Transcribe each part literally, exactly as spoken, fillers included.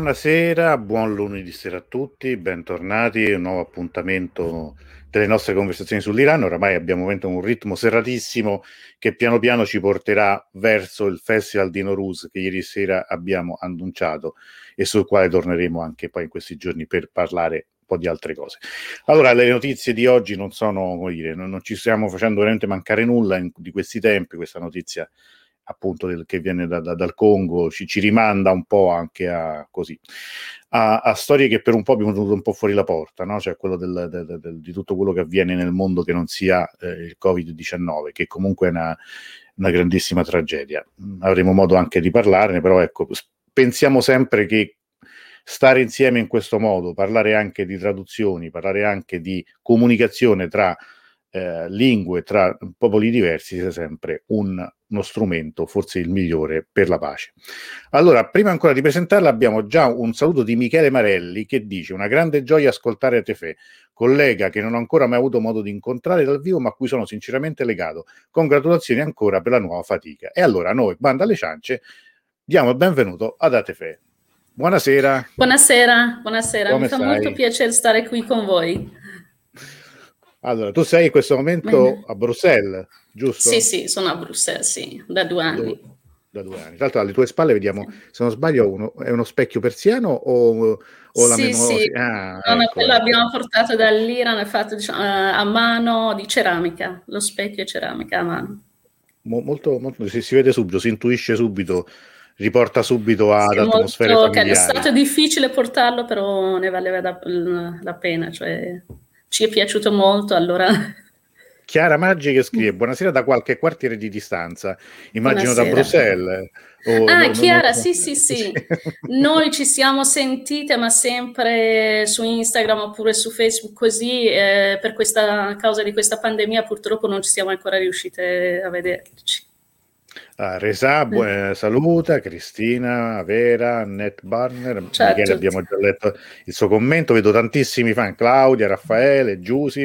Buonasera, buon lunedì sera a tutti, bentornati a un nuovo appuntamento delle nostre conversazioni sull'Iran. Oramai abbiamo un ritmo serratissimo che piano piano ci porterà verso il Festival di Nowruz che ieri sera abbiamo annunciato e sul quale torneremo anche poi in questi giorni per parlare un po' di altre cose. Allora, le notizie di oggi non sono, come dire, non, non ci stiamo facendo veramente mancare nulla in, di questi tempi. Questa notizia appunto del, che viene da, da, dal Congo ci, ci rimanda un po' anche a così a, a storie che per un po' abbiamo tenuto un po' fuori la porta, no? Cioè quello del, del, del, di tutto quello che avviene nel mondo che non sia eh, il covid diciannove, che comunque è una, una grandissima tragedia. Avremo modo anche di parlarne, però ecco, pensiamo sempre che stare insieme in questo modo, parlare anche di traduzioni, parlare anche di comunicazione tra Eh, lingue, tra popoli diversi, sia sempre un, uno strumento, forse il migliore, per la pace. Allora, prima ancora di presentarla, abbiamo già un saluto di Michele Marelli che dice: una grande gioia ascoltare Tefè, collega che non ho ancora mai avuto modo di incontrare dal vivo, ma a cui sono sinceramente legato. Congratulazioni ancora per la nuova fatica. E allora noi, banda alle ciance, diamo il benvenuto ad Atefè. Buonasera. Buonasera, buonasera. Come Mi fa stai? molto piacere stare qui con voi. Allora, tu sei in questo momento Bene. a Bruxelles, giusto? Sì, sì, sono a Bruxelles, sì, da due anni. Do, da due anni. Tra l'altro alle tue spalle vediamo, Sì, se non sbaglio, uno, è uno specchio persiano o, o la sì, sì. memoria? Ah, No, no, ecco, quello ecco. abbiamo portato dall'Iran, è fatto diciamo, eh, a mano di ceramica, lo specchio è ceramica a mano. Mo- molto, molto, si, si vede subito, si intuisce subito, riporta subito ad Sì, è atmosfere molto caro. È familiari. stato difficile portarlo, però ne valeva da- la pena, cioè ci è piaciuto molto, allora Chiara Maggi che scrive: buonasera da qualche quartiere di distanza, immagino da buonasera. Bruxelles. O, Ah, no, no, non lo Chiara, so. sì, sì, Sì. sì. Noi ci siamo sentite, ma sempre su Instagram oppure su Facebook così, eh, per questa causa di questa pandemia purtroppo non ci siamo ancora riuscite a vederci. Ah, Resà, bu- Eh, eh, saluta, Cristina, Vera, Annette Barner, ciao a Michele tutti. abbiamo già letto il suo commento, vedo tantissimi fan, Claudia, Raffaele, Giusy,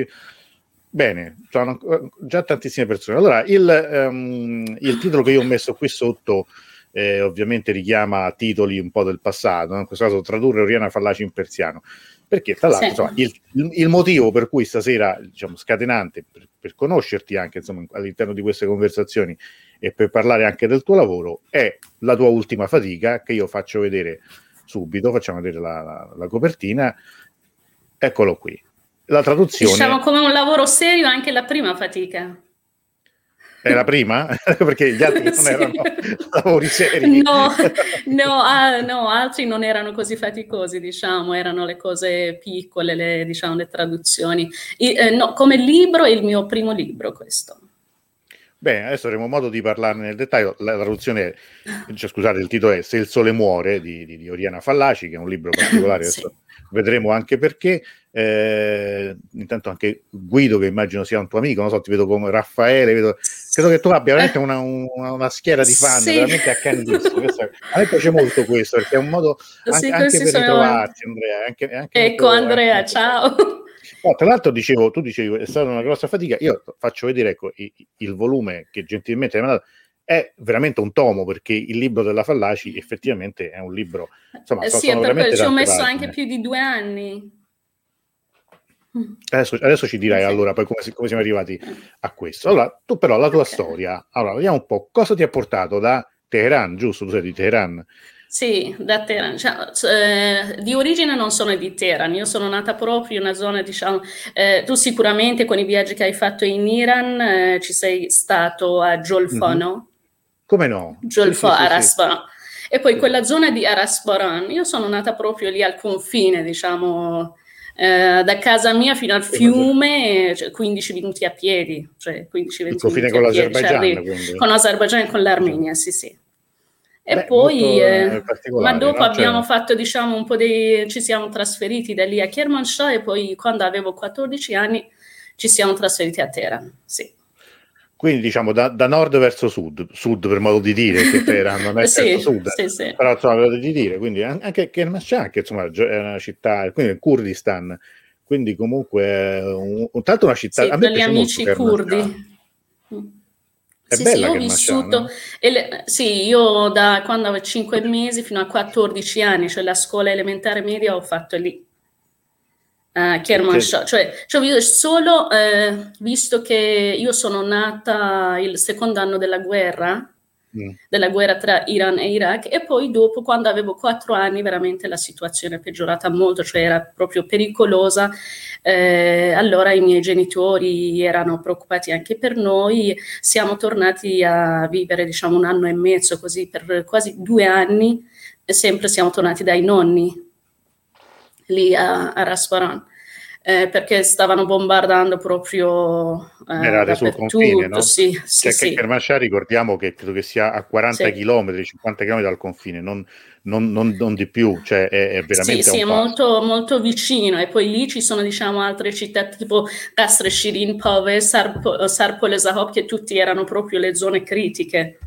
bene, sono eh, già tantissime persone. Allora, il, ehm, il titolo che io ho messo qui sotto eh, ovviamente richiama titoli un po' del passato, no? In questo caso tradurre Oriana Fallaci in persiano, perché tra Sì. l'altro insomma, il, il, il motivo per cui stasera, diciamo, scatenante, per, per conoscerti anche insomma, all'interno di queste conversazioni e per parlare anche del tuo lavoro, è la tua ultima fatica che io faccio vedere subito, facciamo vedere la, la, la copertina, eccolo qui. La Diciamo traduzione come un lavoro serio anche la prima fatica. è la prima, perché gli altri non Sì. erano lavori seri. No, no, ah, no, altri non erano così faticosi, diciamo, erano le cose piccole, le, diciamo, le traduzioni. I- eh, no, come libro è il mio primo libro questo. Bene, adesso avremo modo di parlarne nel dettaglio. La traduzione, cioè, scusate, il titolo è Se il sole muore di, di, di Oriana Fallaci, che è un libro particolare, Sì, adesso vedremo anche perché. Eh, intanto anche Guido, che immagino sia un tuo amico, non so, ti vedo come Raffaele, vedo, credo che tu abbia veramente Eh, una, una, una schiera di fan sì, veramente accanitissima. Questo è- a me piace molto questo, perché è un modo anche, sì, anche così per sono. ritrovarsi, Andrea, è anche, è anche Ecco, molto, è anche Andrea, molto bello. ciao. No, tra l'altro dicevo, tu dicevi è stata una grossa fatica, io faccio vedere ecco, i- il volume che gentilmente hai mandato, è veramente un tomo perché il libro della Fallaci effettivamente è un libro, insomma Eh so- sì, è sono per quello veramente ci ho tante messo anche pagine. più di due anni. Adesso, adesso ci dirai Sì. allora poi come, si- come siamo arrivati a questo. Allora, tu però la tua Ok. storia, allora vediamo un po' cosa ti ha portato da Teheran, giusto? Tu sei di Teheran. Sì, da Teheran. Cioè, eh, di origine non sono di Teheran, io sono nata proprio in una zona, diciamo, eh, tu sicuramente con i viaggi che hai fatto in Iran eh, ci sei stato a Jolfa, Mhm. no? Come no? Sì, sì, Jolfa, sì, sì. Arasbaran. E poi Sì. quella zona di Arasbaran, io sono nata proprio lì al confine, diciamo, eh, da casa mia fino al fiume, cioè quindici minuti a piedi, cioè Il quindici venti confine minuti a con piedi, ci l'Azerbaigian, arrivi quindi. con l'Azerbaigian e con Diciamo. l'Armenia, sì, sì. E Beh, poi, molto eh, eh, ma particolare, dopo no? Cioè, abbiamo fatto, diciamo, un po' dei, ci siamo trasferiti da lì a Kermanshah e poi quando avevo quattordici anni ci siamo trasferiti a Teheran, sì. quindi diciamo da, da nord verso sud, sud per modo di dire, che Teheran non è certo Sì, sud, sì, sì. però insomma per modo di dire, quindi an- anche Kermanshah, che insomma gio- è una città, quindi il Kurdistan, quindi comunque è un, un- tanto una città, Sì, a me per gli piace molto amici Kermanshah. curdi. Mm. È Sì, sì, io bella ho Kermanshah, vissuto, no? e le- sì, io da quando avevo cinque mesi fino a quattordici anni, cioè la scuola elementare media ho fatto lì, a E che... Kermanshah, cioè, cioè io solo, eh, visto che io sono nata il secondo anno della guerra, Mm. della guerra tra Iran e Iraq, e poi dopo, quando avevo quattro anni, veramente la situazione è peggiorata molto, cioè era proprio pericolosa. Eh, allora i miei genitori erano preoccupati anche per noi, siamo tornati a vivere, diciamo, un anno e mezzo, così per quasi due anni, e sempre siamo tornati dai nonni lì a, a Rasparan, eh, perché stavano bombardando proprio eh, Eravate sul confine, dappertutto, no? sì, sì, Cioè che sì, Kermanshah ricordiamo che credo che sia a quaranta sì. chilometri, cinquanta chilometri dal confine, non, non- non- non di più, cioè è, è Sì, veramente a sì, un è passo. molto, molto vicino, e poi lì ci sono, diciamo, altre città tipo Kasr Shirin, Pove, Sarpo, Sarpol Zahop, che tutti erano proprio le zone critiche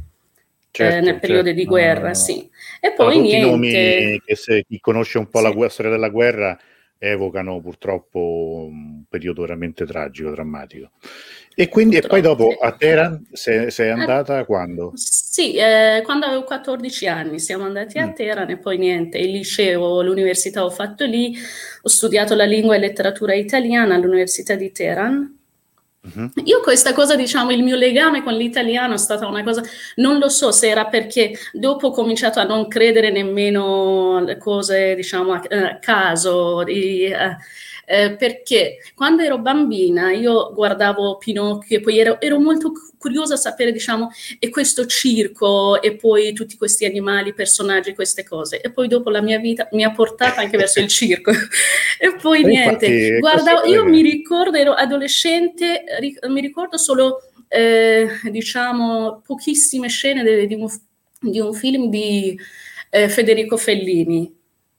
eh, nel Certo, periodo certo. di No, no, guerra, no, no. sì. E Sono poi tutti nomi niente, che se chi conosce un po' la sì, gue- storia della guerra evocano purtroppo un periodo veramente tragico, drammatico. E quindi, e poi purtroppo, dopo sì. a Teheran sei, sei Ah, andata quando? sì, eh, quando avevo quattordici anni siamo andati a Mm, Teheran, e poi niente, il liceo, l'università ho fatto lì, ho studiato la lingua e letteratura italiana all'Università di Teheran. mhm. Io questa cosa, diciamo, il mio legame con l'italiano è stata una cosa, non lo so se era perché dopo ho cominciato a non credere nemmeno alle cose, diciamo, a, a caso, di, eh, eh, perché quando ero bambina io guardavo Pinocchio e poi ero, ero molto curiosa a sapere, diciamo, e questo circo e poi tutti questi animali, personaggi, queste cose. E poi dopo la mia vita mi ha portata anche verso il circo. E poi E niente, infatti questo guarda, io mi è... ricordo, ero adolescente, ri- mi ricordo solo, eh, diciamo, pochissime scene de- di un, di un film di eh, Federico Fellini.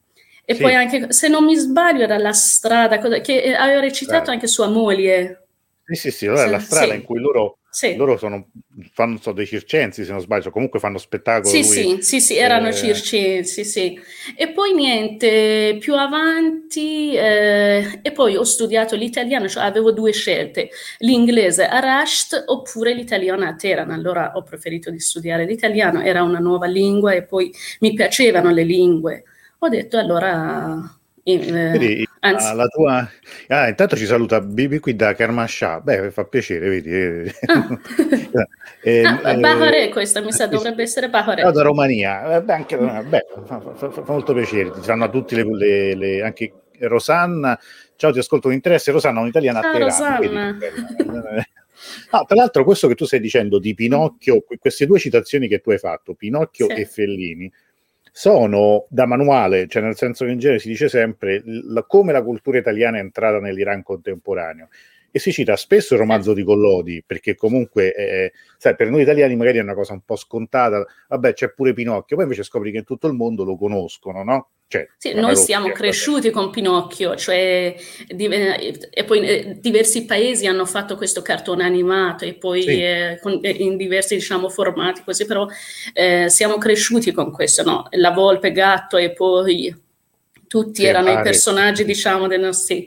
E poi Sì, anche, se non mi sbaglio, era La strada, cosa- che eh, aveva recitato strada. anche sua moglie. Sì, sì, sì, allora è la Se- strada in sì, cui loro, sì. loro sono, fanno, so, dei circensi, se non sbaglio, comunque fanno spettacolo, Sì, lui... sì, sì, sì, erano eh, circensi, sì. E poi niente, più avanti, eh, e poi ho studiato l'italiano, cioè avevo due scelte, l'inglese a Rasht oppure l'italiano a Teheran. Allora ho preferito di studiare l'italiano, era una nuova lingua e poi mi piacevano le lingue. Ho detto allora, eh, Vedi, la, anzi, la tua... Ah, intanto ci saluta Bibi qui da Kermanshah. Beh, fa piacere, vedi. Eh, ah, eh, ah, Bahare, eh, questa mi sa sì, sì. dovrebbe essere Ciao da Bahare. Romania. Eh, beh, anche, beh, fa, fa- fa- fa molto piacere. Ti fanno a tutti le, le- le- anche Rosanna. Ciao, ti ascolto con interesse. Rosanna, un'italiana a Ciao Teheran. Vedi che Rosanna. bella. Ah, tra l'altro, questo che tu stai dicendo di Pinocchio, que- queste due citazioni che tu hai fatto, Pinocchio Sì, e Fellini, sono da manuale, cioè nel senso che in genere si dice sempre l- come la cultura italiana è entrata nell'Iran contemporaneo, e si cita spesso il sì. romanzo di Collodi, perché comunque eh, sai, per noi italiani magari è una cosa un po' scontata, vabbè c'è pure Pinocchio, poi invece scopri che in tutto il mondo lo conoscono, no? Cioè, Sì, la noi siamo parrocchia, vabbè. cresciuti con Pinocchio, cioè, di- eh, e poi eh, diversi paesi hanno fatto questo cartone animato e poi Sì, eh, con- eh, in diversi, diciamo, formati, così, però eh, siamo cresciuti con questo, no? La volpe, gatto, e poi tutti sì, erano i pare. personaggi, diciamo, dei nostri...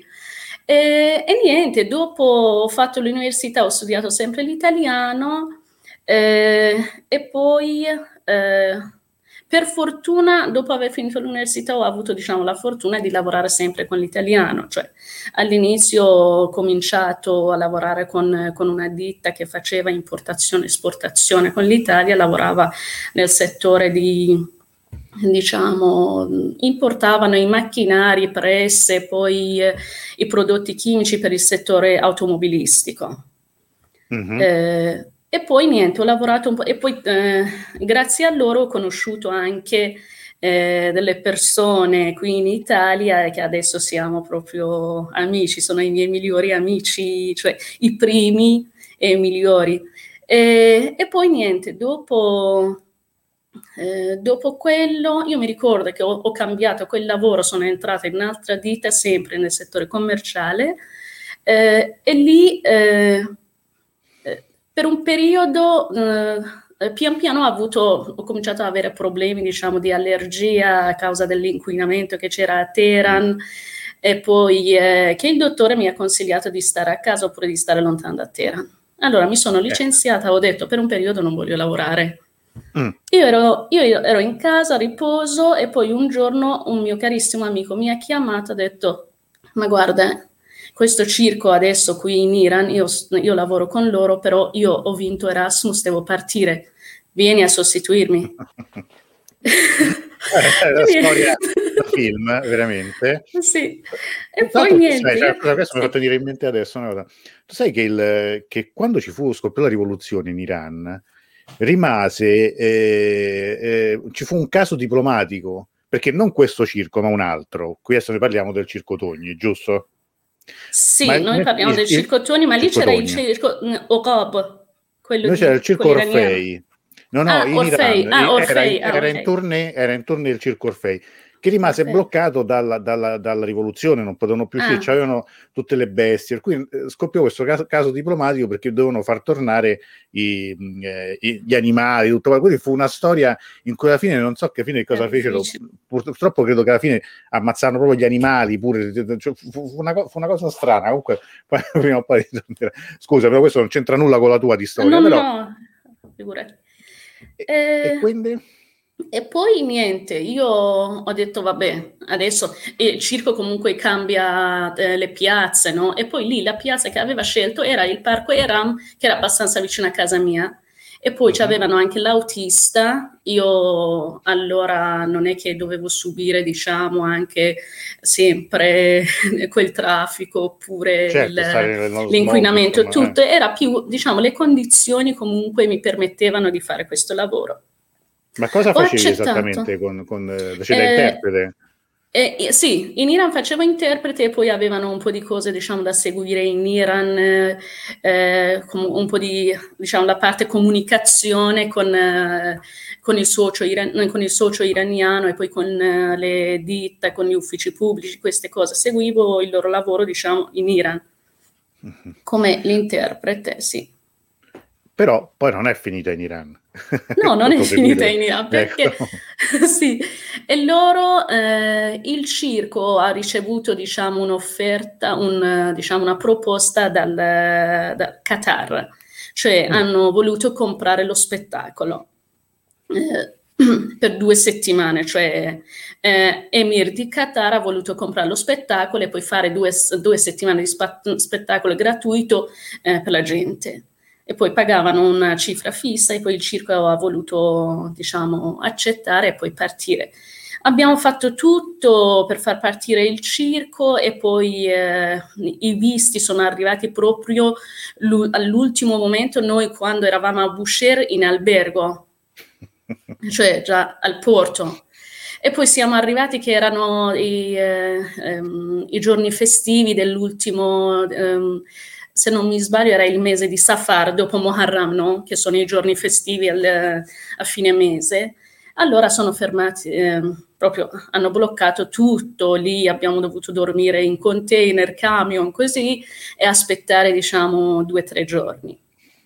E, e niente, dopo ho fatto l'università, ho studiato sempre l'italiano, eh, e poi... eh, per fortuna, dopo aver finito l'università, ho avuto, diciamo, la fortuna di lavorare sempre con l'italiano, cioè all'inizio ho cominciato a lavorare con, con una ditta che faceva importazione e esportazione con l'Italia, lavorava nel settore di, diciamo, importavano i macchinari, presse, poi eh, i prodotti chimici per il settore automobilistico. Mhm. Eh, e poi niente, ho lavorato un po', e poi eh, grazie a loro ho conosciuto anche eh, delle persone qui in Italia che adesso siamo proprio amici, sono i miei migliori amici, cioè i primi e i migliori. E, e poi niente, dopo, eh, dopo quello, io mi ricordo che ho, ho cambiato quel lavoro, sono entrata in un'altra ditta, sempre nel settore commerciale, eh, e lì eh, eh, per un periodo, eh, pian piano ho avuto, ho cominciato ad avere problemi, diciamo, di allergia a causa dell'inquinamento che c'era a Teheran, e poi eh, che il dottore mi ha consigliato di stare a casa oppure di stare lontano da Teheran. Allora mi sono licenziata, ho detto per un periodo non voglio lavorare. Mm. Io ero, io ero in casa, a riposo, e poi un giorno un mio carissimo amico mi ha chiamato, ha detto: ma guarda, questo circo adesso qui in Iran, io, io lavoro con loro, però io ho vinto Erasmus, devo partire, vieni a sostituirmi. È una storia da film, veramente. Sì, e Tra poi l'altro, niente. sai, cioè, io- questo mi ha sì. fatto venire in mente adesso una cosa. Tu sai che, il, che quando ci fu scoppiò la rivoluzione in Iran, rimase, eh, eh, ci fu un caso diplomatico, perché non questo circo, ma un altro. Qui adesso ne parliamo del Circo Togni, giusto? Ma Sì, il, noi parliamo il, del il circo Toni, ma lì Circo c'era il Togni. circo Oqab, quello Noi c'era il di Circo quello iraniano. Orfei. No, no, Ah, in Orfei, Iran ah, era in, Orfei, ah, era in ok. tournée, era in tournée il Circo Orfei, che rimase Orfei. bloccato dalla, dalla- dalla rivoluzione, non potevano più uscire, Ah, c'avevano tutte le bestie, per cui eh, scoppiò questo caso, caso diplomatico perché dovevano far tornare i, mh, eh, i- gli animali, tutto quello. Quindi fu una storia in cui alla fine non so che fine era cosa fecero, difficile. purtroppo credo che alla fine ammazzarono proprio gli animali pure, cioè, fu, fu una, co- fu una cosa strana, comunque poi, prima o poi scusa, però questo non c'entra nulla con la tua di storia, No, no, però no, figurati. e, e Eh, quindi? e poi niente, io ho detto vabbè, adesso il circo comunque cambia eh, le piazze, no? E poi lì la piazza che aveva scelto era il Parco Eram, che era abbastanza vicino a casa mia. E poi Mhm. c'avevano anche l'autista. Io allora non è che dovevo subire, diciamo, anche sempre quel traffico oppure Certo, il- stare nello smog, l'inquinamento e insomma. Eh. tutto. Era più, diciamo, le condizioni comunque mi permettevano di fare questo lavoro. Ma cosa Ho facevi esattamente accettato. con, con eh, cioè, da Eh, interprete? eh, eh, sì, in Iran facevo interprete e poi avevano un po' di cose, diciamo, da seguire in Iran, eh, eh, com- un po' di, diciamo, la parte comunicazione con, eh, con il socio iran- con il socio iraniano e poi con eh, le ditte, con gli uffici pubblici, queste cose. Seguivo il loro lavoro, diciamo, in Iran Mhm. come l'interprete, sì. Però poi non è finita in Iran. No, non è Tutto finita finire. in Iran perché Ecco. sì, e loro, eh, il circo ha ricevuto, diciamo, un'offerta, un, eh, diciamo, una proposta dal, da Qatar, cioè Mm. hanno voluto comprare lo spettacolo eh, per due settimane, cioè eh, Emir di Qatar ha voluto comprare lo spettacolo e poi fare due, due settimane di spa- spettacolo gratuito eh, per la gente e poi pagavano una cifra fissa e poi il circo ha voluto, diciamo, accettare e poi partire. Abbiamo fatto tutto per far partire il circo e poi eh, i visti sono arrivati proprio all'ultimo momento, noi quando eravamo a Bushehr in albergo, cioè già al porto. E poi siamo arrivati che erano i, eh, ehm, i giorni festivi dell'ultimo, ehm, se non mi sbaglio, era il mese di Safar, dopo Muharram, no? Che sono i giorni festivi al, a fine mese. Allora sono fermati, eh, proprio hanno bloccato tutto, lì abbiamo dovuto dormire in container, camion, così, e aspettare, diciamo, due o tre giorni.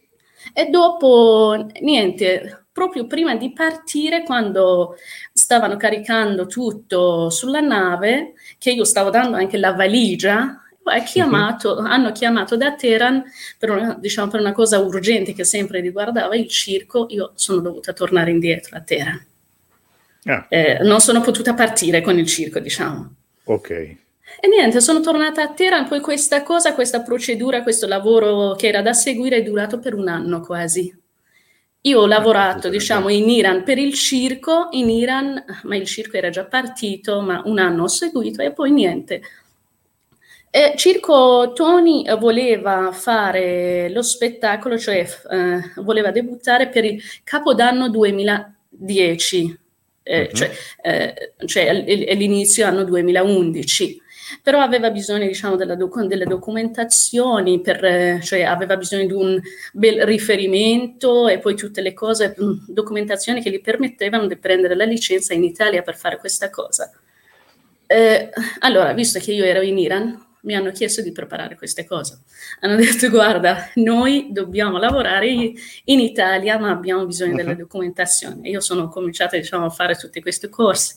E dopo, niente, proprio prima di partire, quando stavano caricando tutto sulla nave, che io stavo dando anche la valigia, ha Mhm. chiamato, hanno chiamato da Teheran per una, diciamo, per una cosa urgente che sempre riguardava il circo, io sono dovuta tornare indietro a Teheran. Ah, Eh, non sono potuta partire con il circo, diciamo. ok. E niente, sono tornata a Teheran, poi questa cosa, questa procedura, questo lavoro che era da seguire è durato per un anno quasi. Io ho Ah, lavorato, caspita, diciamo, beh. in Iran per il circo, in Iran, ma il circo era già partito, ma un anno ho seguito e poi niente. E Circo Tony voleva fare lo spettacolo, cioè eh, voleva debuttare per il Capodanno duemiladieci, eh, cioè, Mhm. eh, cioè all'inizio anno duemilaundici, però aveva bisogno, diciamo, della doc- delle documentazioni, per, eh, cioè aveva bisogno di un bel riferimento e poi tutte le cose, mh, documentazioni che gli permettevano di prendere la licenza in Italia per fare questa cosa. Eh, allora, visto che io ero in Iran, mi hanno chiesto di preparare queste cose. Hanno detto, guarda, noi dobbiamo lavorare in Italia, ma abbiamo bisogno della Mhm. documentazione. Io sono cominciata, diciamo, a fare tutti questi corsi.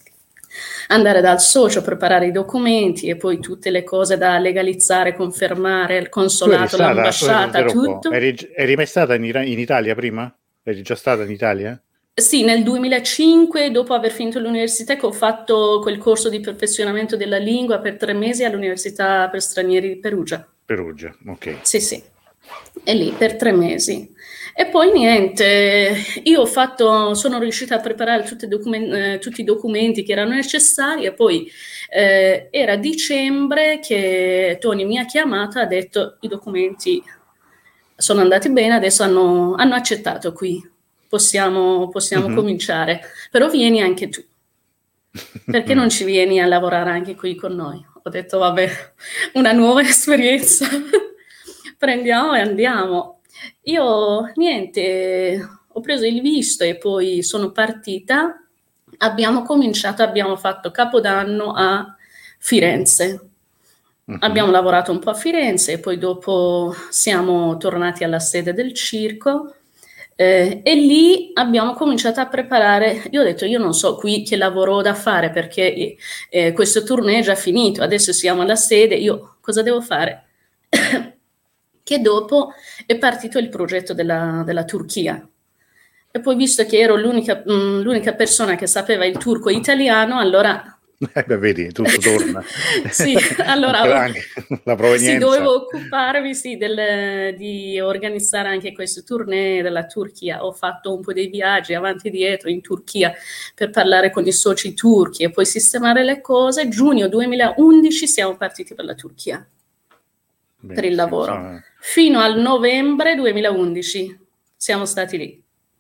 andare dal socio, preparare i documenti e poi tutte le cose da legalizzare, confermare, il consolato, stata, l'ambasciata, tutto. Eri, eri mai stata in, in Italia prima? Eri già stata in Italia? Sì, nel duemilacinque, dopo aver finito l'università, che ho fatto quel corso di perfezionamento della lingua per tre mesi all'Università per Stranieri di Perugia. Perugia, ok. Sì, sì, e lì per tre mesi. E poi niente, io ho fatto, sono riuscita a preparare tutti i, document- eh, tutti i documenti che erano necessari e poi eh, era dicembre che Tony mi ha chiamato e ha detto i documenti sono andati bene, adesso hanno, hanno accettato qui. Possiamo, possiamo mm-hmm. cominciare, però vieni anche tu, perché non ci vieni a lavorare anche qui con noi? Ho detto vabbè, una nuova esperienza, prendiamo e andiamo. Io niente, ho preso il visto e poi sono partita, abbiamo cominciato, abbiamo fatto Capodanno a Firenze. Mm-hmm. Abbiamo lavorato un po' a Firenze e poi dopo siamo tornati alla sede del circo. Eh, e lì abbiamo cominciato a preparare, io ho detto io non so qui che lavoro ho da fare perché eh, questo tournée è già finito, adesso siamo alla sede, io cosa devo fare? Che dopo è partito il progetto della, della Turchia e poi visto che ero l'unica, mh, l'unica persona che sapeva il turco e italiano, allora... Eh beh, vedi, tutto torna. Sì, allora anche la provenienza. Sì, dovevo occuparmi sì, del, di organizzare anche questo tournée della Turchia. Ho fatto un po' dei viaggi avanti e dietro in Turchia per parlare con i soci turchi e poi sistemare le cose. Giugno duemilaundici siamo partiti per la Turchia, Beh, per il lavoro. Sì, sì. Fino al novembre duemilaundici siamo stati lì.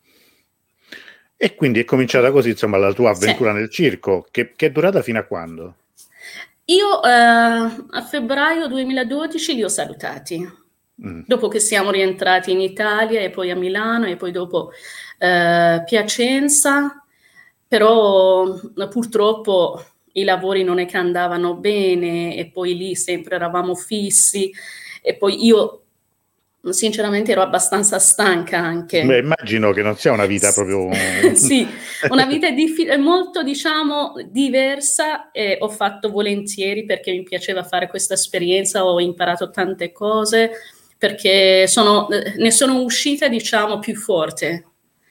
E quindi è cominciata così, insomma, la tua avventura sì. nel circo, che, che è durata fino a quando? Io eh, a febbraio duemiladodici li ho salutati, mm. dopo che siamo rientrati in Italia e poi a Milano e poi dopo eh, Piacenza, però purtroppo i lavori non è che andavano bene e poi lì sempre eravamo fissi e poi io... Sinceramente ero abbastanza stanca anche. Beh, immagino che non sia una vita proprio... Sì, una vita diffi- molto, diciamo, diversa e ho fatto volentieri perché mi piaceva fare questa esperienza, ho imparato tante cose, perché sono, ne sono uscita, diciamo, più forte.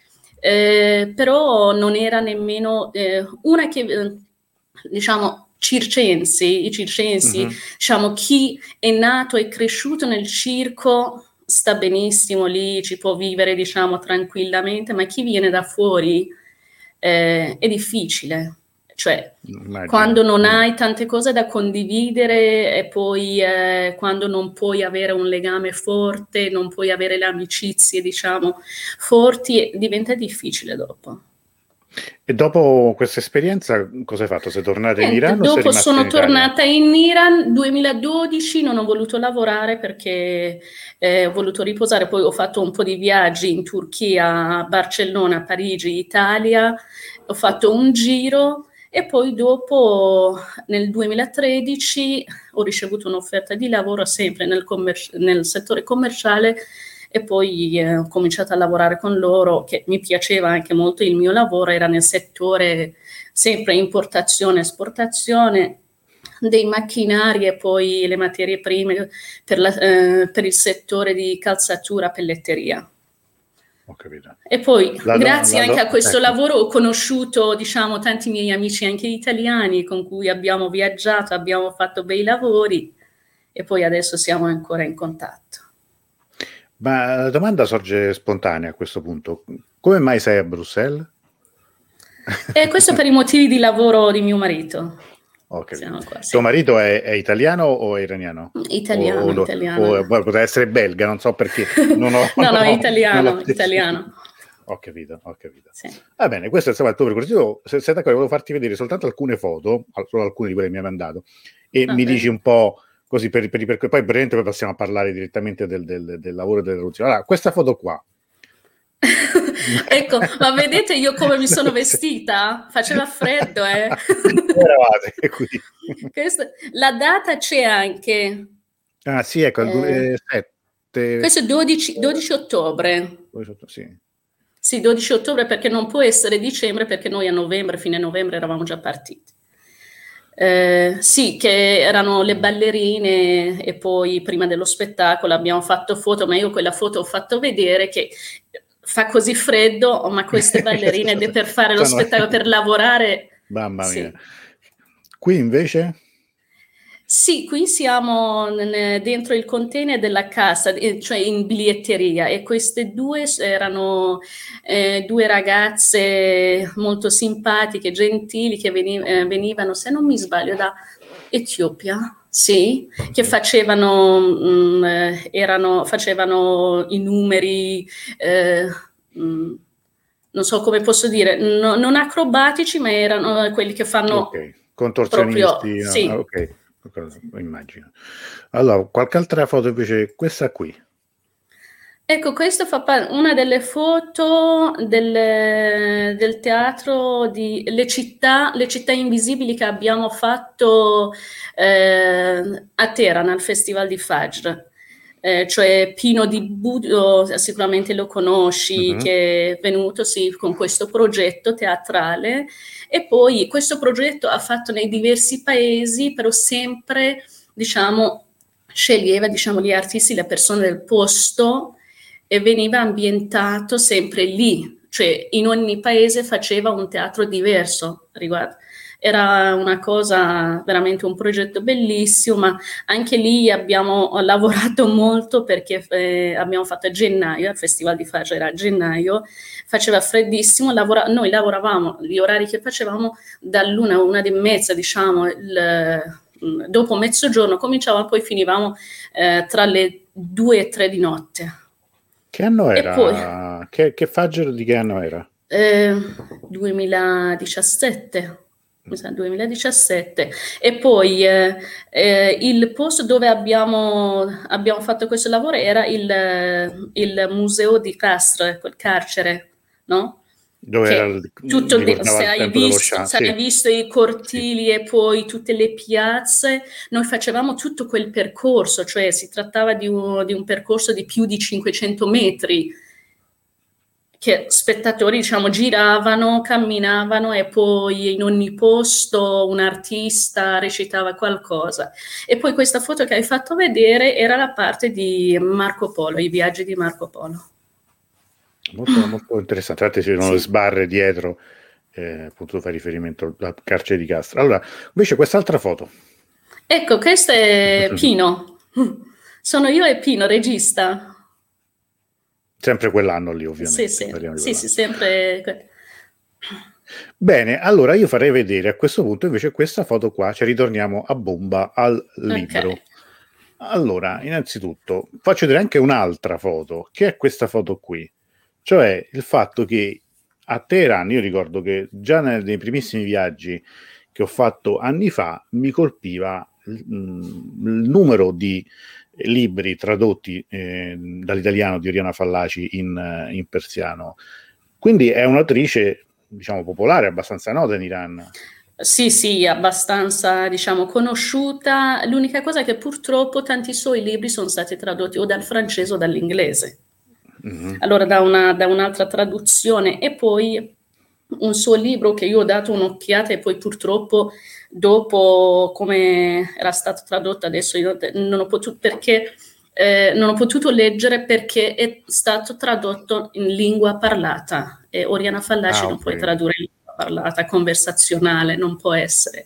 Eh, però non era nemmeno eh, una che, eh, diciamo, circensi, i circensi, mm-hmm. diciamo, chi è nato e cresciuto nel circo... sta benissimo lì, ci può vivere, diciamo, tranquillamente, ma chi viene da fuori eh, è difficile. Cioè, Immagino. Quando non hai tante cose da condividere e poi eh, quando non puoi avere un legame forte, non puoi avere le amicizie, diciamo, forti, diventa difficile dopo. E dopo questa esperienza cosa hai fatto? Sei tornata Niente, in Iran? Dopo o sei sono in tornata in Iran duemiladodici, non ho voluto lavorare perché eh, ho voluto riposare, poi ho fatto un po' di viaggi in Turchia, Barcellona, Parigi, Italia, ho fatto un giro e poi dopo nel duemilatredici ho ricevuto un'offerta di lavoro sempre nel, commer- nel settore commerciale e poi eh, ho cominciato a lavorare con loro, che mi piaceva anche molto il mio lavoro, era nel settore sempre importazione, esportazione dei macchinari e poi le materie prime per, la, eh, per il settore di calzatura, pelletteria. Ho capito. E poi la grazie do, la anche do, a questo ecco. lavoro ho conosciuto, diciamo, tanti miei amici anche italiani con cui abbiamo viaggiato, abbiamo fatto bei lavori e poi adesso siamo ancora in contatto. Ma la domanda sorge spontanea a questo punto. Come mai sei a Bruxelles? E questo per i motivi di lavoro di mio marito. Okay. Qua, sì. Tuo marito è, è italiano o è iraniano? Italiano, o, o, italiano. O, potrebbe essere belga, non so perché. Non ho, no, no, no, italiano, non italiano. Ho capito, ho capito. Sì. Va bene, questo è stato il tuo percorso. Io, se sei d'accordo, volevo farti vedere soltanto alcune foto, solo alcune di quelle che mi hai mandato, e Va mi bene. dici un po' così per, per, per, poi brevemente poi passiamo a parlare direttamente del, del, del lavoro e della traduzione. Allora, questa foto qua. Ecco, ma vedete io come mi sono vestita? Faceva freddo, eh? Eravate qui. Questo, la data c'è anche. Ah sì, ecco, il eh, duemilasette. Questo è dodici, dodici ottobre. Sì. Sì, dodici ottobre perché non può essere dicembre perché noi a novembre, fine novembre eravamo già partiti. Eh, sì, che erano le ballerine e poi prima dello spettacolo abbiamo fatto foto, ma io quella foto ho fatto vedere che fa così freddo, ma queste ballerine de- per fare lo spettacolo, per lavorare, Mamma mia. sì. Qui invece? Sì, qui siamo n- dentro il container della cassa, eh, cioè in biglietteria, e queste due erano eh, due ragazze molto simpatiche, gentili, che veni- eh, venivano, se non mi sbaglio, da Etiopia, sì, che facevano, mh, eh, erano, facevano i numeri, eh, mh, non so come posso dire, no- non acrobatici, ma erano quelli che fanno Ok, proprio, contorsionisti, ah, sì. ok, immagino. Allora, qualche altra foto invece, questa qui. Ecco, questo fa parte, una delle foto del, del teatro di Le città, Le città invisibili che abbiamo fatto eh, a Teheran al Festival di Fajr. Eh, cioè Pino di Budo, sicuramente lo conosci, Mhm. che è venuto sì, con questo progetto teatrale, e poi questo progetto ha fatto nei diversi paesi, però sempre, diciamo, sceglieva, diciamo, gli artisti, le persone del posto, e veniva ambientato sempre lì, cioè in ogni paese faceva un teatro diverso riguardo. Era una cosa, veramente un progetto bellissimo, ma anche lì abbiamo lavorato molto perché eh, abbiamo fatto a gennaio, al Festival di Fajr era a gennaio, faceva freddissimo, lavora- noi lavoravamo, gli orari che facevamo dall'una a una e mezza, diciamo, il, dopo mezzogiorno cominciavamo, poi finivamo eh, tra le due e tre di notte. Che anno E poi era? Che, che Fajr di che anno era? eh, duemiladiciassette, mi sa duemiladiciassette, e poi eh, eh, il posto dove abbiamo, abbiamo fatto questo lavoro era il, il museo di Castres, quel carcere, no? Dove era, Che il- tutto, de- ricordava se il hai tempo dello visto, Shah, se sì, hai visto i sì. cortili e poi tutte le piazze, noi facevamo tutto quel percorso, cioè si trattava di un, di un percorso di più di cinquecento metri, che spettatori, diciamo, giravano, camminavano, e poi in ogni posto un artista recitava qualcosa. E poi questa foto che hai fatto vedere era la parte di Marco Polo, i viaggi di Marco Polo. Molto, molto interessante. Tra l'altro ci sono le Sì. sbarre dietro, eh, appunto fa riferimento al carcere di Castro. Allora, invece quest'altra foto. Ecco, questo è Pino. Sono io e Pino, regista. Sempre quell'anno lì, Sì, ovviamente, sì, parliamo di sì, sì, quell'anno. sempre. Bene, allora io farei vedere a questo punto invece questa foto qua, ci ritorniamo a bomba al Ok. libro. Allora, innanzitutto, faccio vedere anche un'altra foto, che è questa foto qui, cioè il fatto che a Teheran, io ricordo che già nei, nei primissimi viaggi che ho fatto anni fa, mi colpiva il, mm, il numero di libri tradotti eh, dall'italiano di Oriana Fallaci in, eh, in persiano. Quindi è un'autrice, diciamo, popolare, abbastanza nota in Iran. Sì, sì, abbastanza, diciamo, conosciuta. L'unica cosa è che purtroppo tanti suoi libri sono stati tradotti o dal francese o dall'inglese. Mhm. Allora, da una- da un'altra traduzione, e poi un suo libro che io ho dato un'occhiata, e poi purtroppo dopo come era stato tradotto adesso io non ho potuto, perché eh, non ho potuto leggere perché è stato tradotto in lingua parlata, e Oriana Fallaci Ah, non ok. puoi tradurre in lingua parlata, conversazionale, non può essere.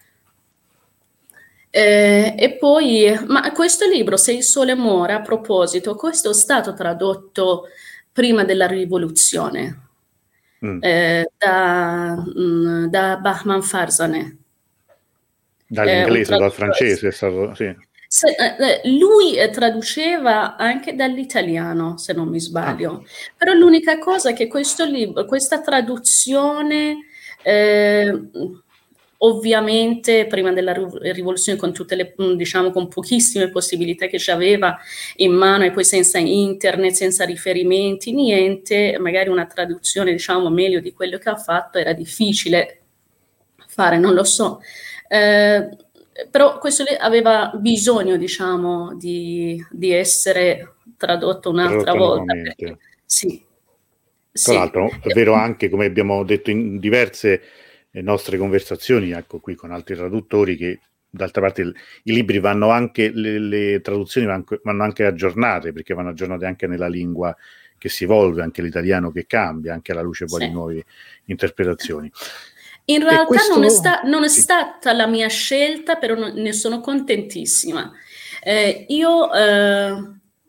Eh, e poi, ma questo libro, Se il sole muore, a proposito, questo è stato tradotto prima della rivoluzione, Mm. eh, da, mm, da Bahman Farzaneh. Eh, un Dall'inglese o dal traduttore. francese è stato, sì. Se- eh, eh, lui eh, traduceva anche dall'italiano, se non mi Ah, sbaglio, però l'unica cosa è che questo libro, questa traduzione, eh, ovviamente prima della riv- rivoluzione, con tutte le, mh, diciamo, con pochissime possibilità che ci aveva in mano, e poi senza internet, senza riferimenti, niente, magari una traduzione, diciamo, meglio di quello che ha fatto era difficile fare, non lo so. Eh, Però questo lì aveva bisogno, diciamo, di, di essere tradotto un'altra tradotto volta, perché nuovamente. sì, Tra sì. l'altro è vero anche, come abbiamo detto in diverse le nostre conversazioni, ecco, qui con altri traduttori, che d'altra parte il, i libri vanno anche, le, le traduzioni vanno, vanno anche aggiornate, perché vanno aggiornate anche nella lingua che si evolve, anche l'italiano che cambia, anche alla luce poi Sì. di nuove interpretazioni. In realtà questo... non, è sta- non è sì. stata la mia scelta, però non- ne sono contentissima. Eh, io, eh,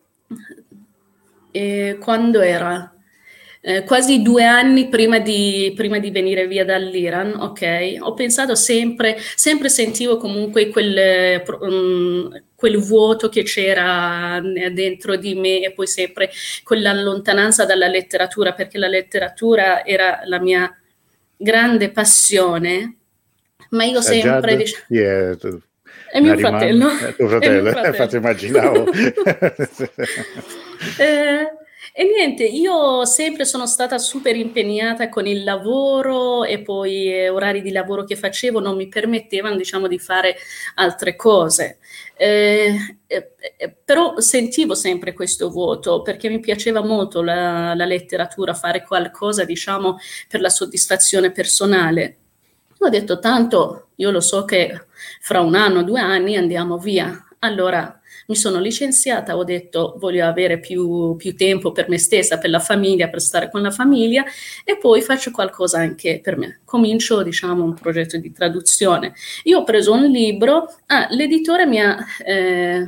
eh, quando era? Eh, quasi due anni prima di, prima di venire via dall'Iran, ok? Ho pensato sempre, sempre sentivo comunque quel, um, quel vuoto che c'era dentro di me e poi sempre quella lontananza dalla letteratura, perché la letteratura era la mia grande passione, ma io Sajjad? sempre... Diciamo, Chi è? Tu? è mio Nariman? fratello, È tuo è mio fratello, fratello. infatti immaginavo. eh, e niente, io sempre sono stata super impegnata con il lavoro e poi eh, orari di lavoro che facevo non mi permettevano, diciamo, di fare altre cose. Eh, eh, eh, però sentivo sempre questo vuoto perché mi piaceva molto la, la letteratura, fare qualcosa, diciamo, per la soddisfazione personale. Ho detto, tanto io lo so che fra un anno, due anni andiamo via. Allora mi sono licenziata, ho detto voglio avere più, più tempo per me stessa, per la famiglia, per stare con la famiglia e poi faccio qualcosa anche per me. Comincio, diciamo, un progetto di traduzione. Io ho preso un libro, ah, l'editore mi ha, eh,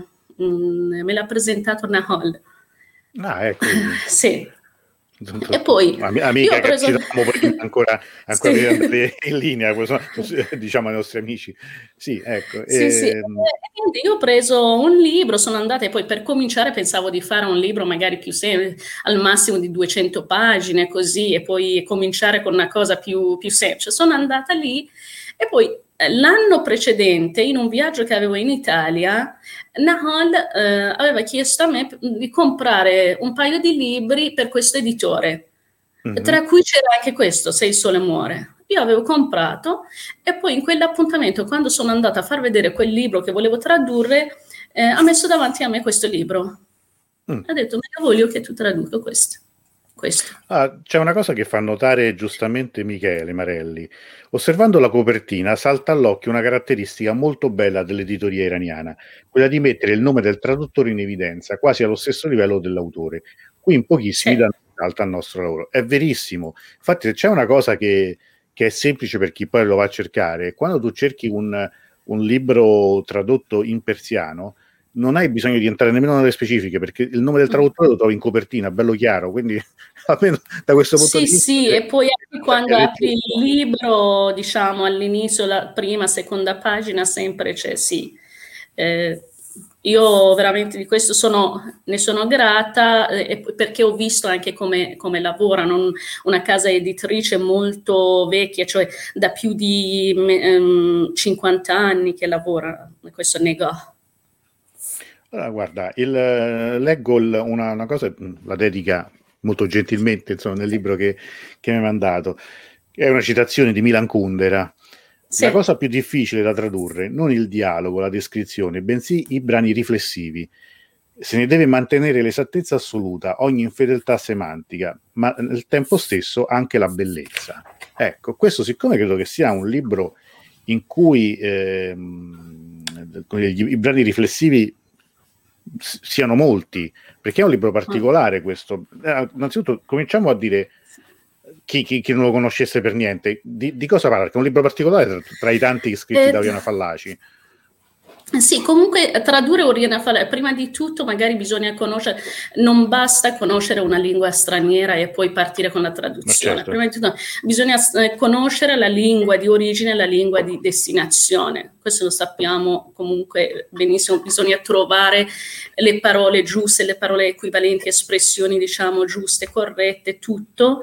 mh, me l'ha presentato Nahal. Ah, ecco. Vedi. Sì. Tu, tu, E poi amica io ho che preso... ci davamo prima ancora, ancora Sì. prima di andare in linea, diciamo ai nostri amici. Sì, ecco. Sì, sì. E... E io ho preso un libro, sono andata e poi per cominciare pensavo di fare un libro magari più semplice, al massimo di duecento pagine, così, e poi cominciare con una cosa più, più semplice. Sono andata lì e poi eh, l'anno precedente, in un viaggio che avevo in Italia, Nahal eh, aveva chiesto a me di comprare un paio di libri per questo editore. Mm-hmm. Tra cui c'era anche questo, Se il sole muore. Io avevo comprato e poi in quell'appuntamento, quando sono andata a far vedere quel libro che volevo tradurre, eh, ha messo davanti a me questo libro. Mm. Ha detto, ma io voglio che tu traduca questo. questo. Ah, c'è una cosa che fa notare giustamente Michele Marelli. Osservando la copertina salta all'occhio una caratteristica molto bella dell'editoria iraniana, quella di mettere il nome del traduttore in evidenza, quasi allo stesso livello dell'autore. Qui in pochissimi danno risalto al nostro lavoro. È verissimo. Infatti, se c'è una cosa che, che è semplice per chi poi lo va a cercare, quando tu cerchi un, un libro tradotto in persiano, non hai bisogno di entrare nemmeno nelle specifiche, perché il nome del traduttore lo trovi in copertina, bello chiaro, quindi almeno da questo punto sì, di vista... Sì, sì, e poi anche quando apri il libro, diciamo all'inizio, la prima, seconda pagina, sempre c'è sì. Eh, io veramente di questo sono, ne sono grata eh, perché ho visto anche come, come lavorano, una casa editrice molto vecchia, cioè da più di um, cinquanta anni che lavora questo negozio. Allora, guarda, il, leggo il, una, una cosa, la dedica molto gentilmente, insomma, nel libro che, che mi hai mandato, che è una citazione di Milan Kundera. Sì. La cosa più difficile da tradurre, non il dialogo, la descrizione, bensì i brani riflessivi. Se ne deve mantenere l'esattezza assoluta, ogni infedeltà semantica, ma nel tempo stesso anche la bellezza. Ecco, questo siccome credo che sia un libro in cui ehm, i brani riflessivi siano molti, perché è un libro particolare questo. Eh, innanzitutto cominciamo a dire chi, chi, chi non lo conoscesse per niente, di, di cosa parla? Perché è un libro particolare tra, tra i tanti scritti eh, da Oriana Fallaci. Sì, comunque tradurre Oriana Fallaci, prima di tutto magari bisogna conoscere, non basta conoscere una lingua straniera e poi partire con la traduzione. Certo. Prima di tutto bisogna conoscere la lingua di origine e la lingua di destinazione. Questo lo sappiamo comunque benissimo, bisogna trovare le parole giuste, le parole equivalenti, espressioni diciamo giuste, corrette, tutto.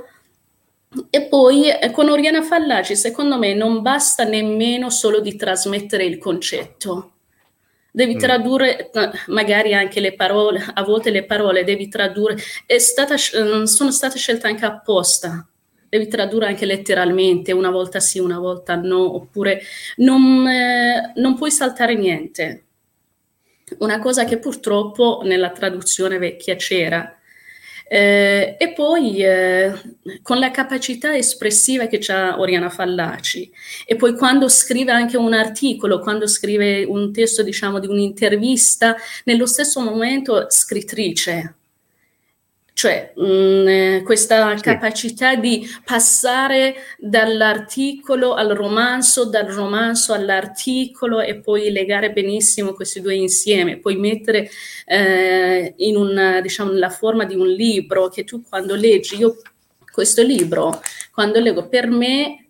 E poi con Oriana Fallaci secondo me non basta nemmeno solo di trasmettere il concetto. Devi tradurre magari anche le parole, a volte le parole devi tradurre, è stata, sono state scelte anche apposta, devi tradurre anche letteralmente, una volta sì, una volta no, oppure non, eh, non puoi saltare niente. Una cosa che purtroppo nella traduzione vecchia c'era, Eh, e poi eh, con la capacità espressiva che ha Oriana Fallaci, e poi quando scrive anche un articolo, quando scrive un testo, diciamo, di un'intervista, nello stesso momento scrittrice. Cioè mh, questa sì. capacità di passare dall'articolo al romanzo, dal romanzo all'articolo, e poi legare benissimo questi due insieme, poi mettere eh, in una, diciamo, la forma di un libro che tu quando leggi, io questo libro, quando leggo, per me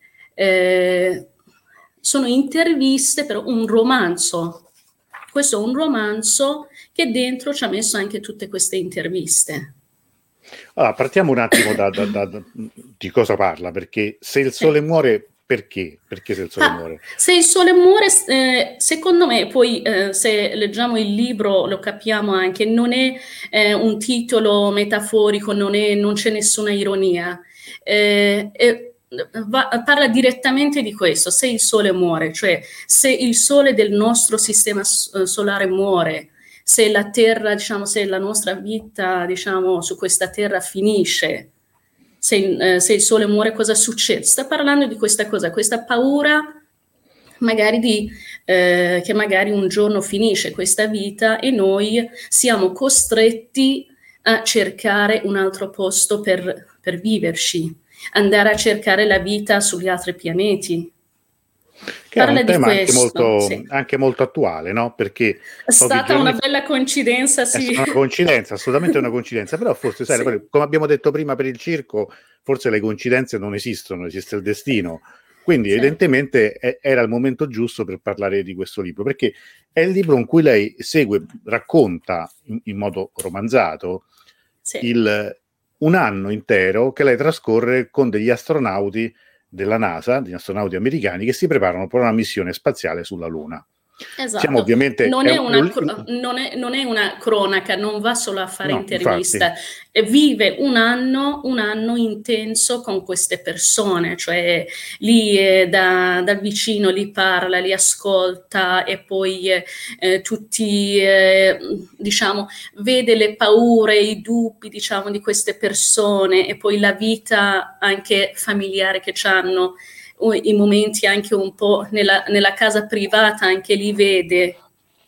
eh, sono interviste, però un romanzo. Questo è un romanzo che dentro ci ha messo anche tutte queste interviste. Allora, partiamo un attimo da, da, da, da di cosa parla, perché se il sole sì. muore, perché? Perché se il sole ah, muore? Se il sole muore, eh, secondo me, poi eh, se leggiamo il libro lo capiamo anche, non è eh, un titolo metaforico, non, è, non c'è nessuna ironia. Eh, eh, va, parla direttamente di questo, se il sole muore, cioè se il sole del nostro sistema solare muore, se la terra, diciamo, se la nostra vita, diciamo, su questa terra finisce, se, eh, se il sole muore, cosa succede? Sta parlando di questa cosa, questa paura magari di eh, che magari un giorno finisce questa vita e noi siamo costretti a cercare un altro posto per, per viverci, andare a cercare la vita sugli altri pianeti. Che Parla è un tema anche molto, sì. anche molto attuale, no? Perché è stata una bella coincidenza, sì. È una coincidenza, assolutamente una coincidenza, però forse, sai, sì. come abbiamo detto prima per il circo, forse le coincidenze non esistono, esiste il destino. Quindi sì. evidentemente è, era il momento giusto per parlare di questo libro, perché è il libro in cui lei segue, racconta in, in modo romanzato sì. il, un anno intero che lei trascorre con degli astronauti della NASA, degli astronauti americani che si preparano per una missione spaziale sulla Luna. Esatto. Siamo ovviamente non, è una, non, è, non è una cronaca, non va solo a fare no, intervista, infatti. Vive un anno, un anno intenso con queste persone, cioè lì eh, da, da vicino li parla, li ascolta e poi eh, tutti, eh, diciamo, vede le paure, i dubbi, diciamo, di queste persone e poi la vita anche familiare che hanno. I momenti anche un po' nella, nella casa privata, anche li vede,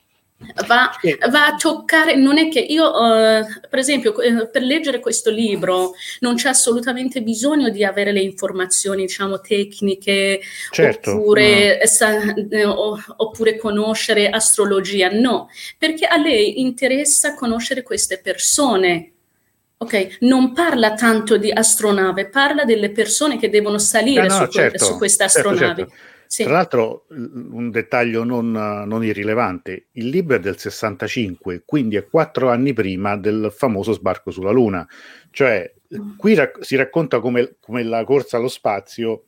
va, va a toccare, non è che io, uh, per esempio, eh, per leggere questo libro non c'è assolutamente bisogno di avere le informazioni, diciamo, tecniche, certo, oppure, no. sa, eh, oppure conoscere astrologia, no, perché a lei interessa conoscere queste persone. Ok, non parla tanto di astronave, parla delle persone che devono salire ah, no, su, certo, su questa astronavi. Certo, certo. Sì. Tra l'altro, un dettaglio non, non irrilevante, il libro è del sessantacinque, quindi è quattro anni prima del famoso sbarco sulla Luna. Cioè, qui rac- si racconta come, come la corsa allo spazio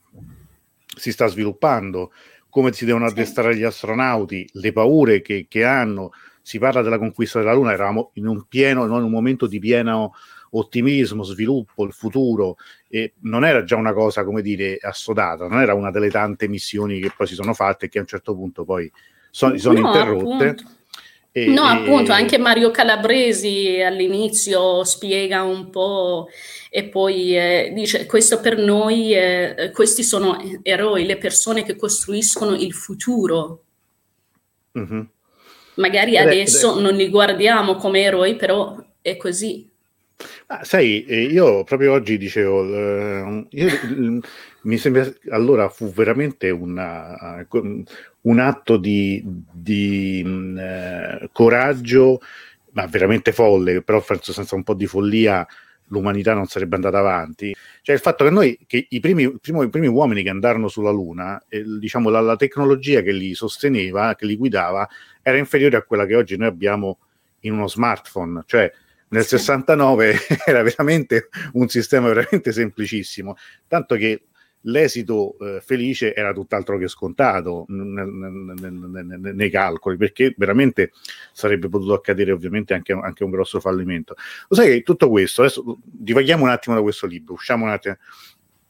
si sta sviluppando, come si devono addestrare gli astronauti, le paure che, che hanno. Si parla della conquista della Luna, eravamo in un pieno, in un momento di pieno ottimismo, sviluppo, il futuro, e non era già una cosa, come dire, assodata, non era una delle tante missioni che poi si sono fatte e che a un certo punto poi so, si sono no, interrotte. E, no, e... appunto, anche Mario Calabresi all'inizio spiega un po' e poi eh, dice questo per noi, eh, questi sono eroi, le persone che costruiscono il futuro. Mm-hmm. Magari ed adesso è, non li guardiamo come eroi, però è così. Ah, sai, io proprio oggi dicevo, eh, io, mi sembra, allora fu veramente una, un atto di, di eh, coraggio, ma veramente folle, però penso senza un po' di follia l'umanità non sarebbe andata avanti. Cioè il fatto che noi, che i primi, primo, i primi uomini che andarono sulla Luna, eh, diciamo la, la tecnologia che li sosteneva, che li guidava, era inferiore a quella che oggi noi abbiamo in uno smartphone, cioè nel sì. sessantanove era veramente un sistema veramente semplicissimo, tanto che l'esito eh, felice era tutt'altro che scontato nel, nel, nel, nei calcoli, perché veramente sarebbe potuto accadere ovviamente anche, anche un grosso fallimento. Lo sai che tutto questo, adesso divaghiamo un attimo da questo libro, usciamo un attimo,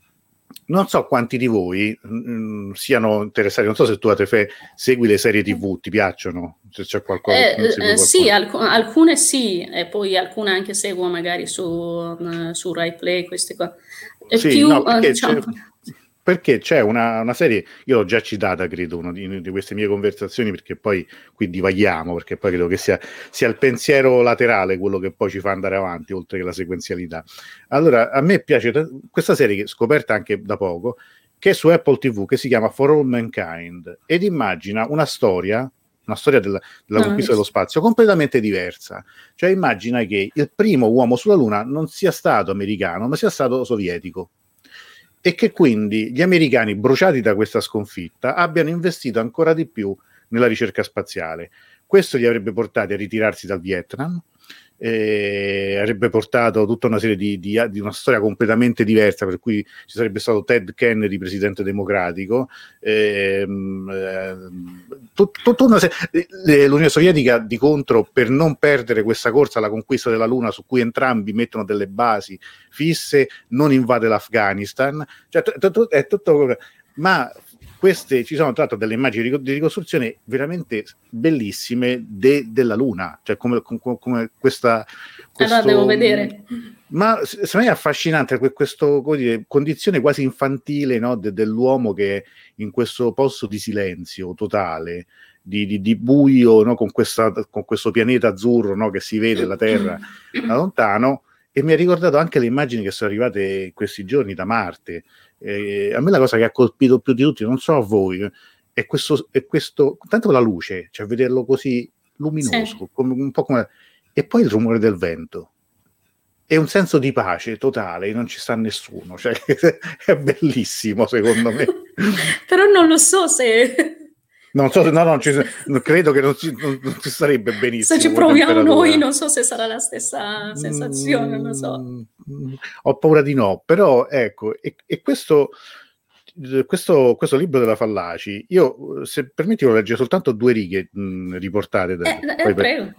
non so quanti di voi mh, siano interessati, non so se tu a te fe, segui le serie tivù, ti piacciono? Se c'è qualcosa, Eh, segui eh, sì, qualcosa? alc- alcune sì, e poi alcune anche seguo magari su, uh, su Rai Play, queste cose. E Sì, più, no, uh, perché diciamo, c'è, perché c'è una, una serie, io l'ho già citata, credo, una di, di queste mie conversazioni, perché poi qui divaghiamo, perché poi credo che sia, sia il pensiero laterale quello che poi ci fa andare avanti, oltre che la sequenzialità. Allora, a me piace t- questa serie, che scoperta anche da poco, che è su Apple tivù, che si chiama For All Mankind, ed immagina una storia, una storia della, della non ho conquista dello visto. spazio, completamente diversa. Cioè immagina che il primo uomo sulla Luna non sia stato americano, ma sia stato sovietico. E che quindi gli americani, bruciati da questa sconfitta, abbiano investito ancora di più nella ricerca spaziale. Questo li avrebbe portati a ritirarsi dal Vietnam, eh, avrebbe portato tutta una serie di, di, di una storia completamente diversa, per cui ci sarebbe stato Ted Kennedy, presidente democratico, ehm, eh, tut, tut una serie, l'Unione Sovietica di contro, per non perdere questa corsa alla conquista della Luna, su cui entrambi mettono delle basi fisse, non invade l'Afghanistan, cioè t- t- è tutto, ma queste ci sono tra l'altro delle immagini di ricostruzione veramente bellissime de, della Luna, cioè come, come, come questa Allora devo questo, vedere. ma secondo me è affascinante questa condizione quasi infantile, no, de, dell'uomo che è in questo posto di silenzio totale, di, di, di buio, no, con, questa, con questo pianeta azzurro, no, che si vede la Terra da lontano. E mi ha ricordato anche le immagini che sono arrivate in questi giorni da Marte. Eh, a me la cosa che ha colpito più di tutti, non so a voi, è questo, è questo tanto la luce, cioè vederlo così luminoso, Sì. come, un po' come, e poi il rumore del vento. E un senso di pace totale, non ci sta nessuno, cioè, è bellissimo secondo me. Però non lo so se... Non so se no, non ci, credo che non ci, non, non ci sarebbe se ci benissimo come proviamo noi, temperatura. non so se sarà la stessa sensazione, non lo so. Mm, ho paura di no, però ecco, e, e questo, questo, questo libro della Fallaci, io se permetti lo leggo soltanto due righe mh, riportate, da, Eh, eh, poi per, prego.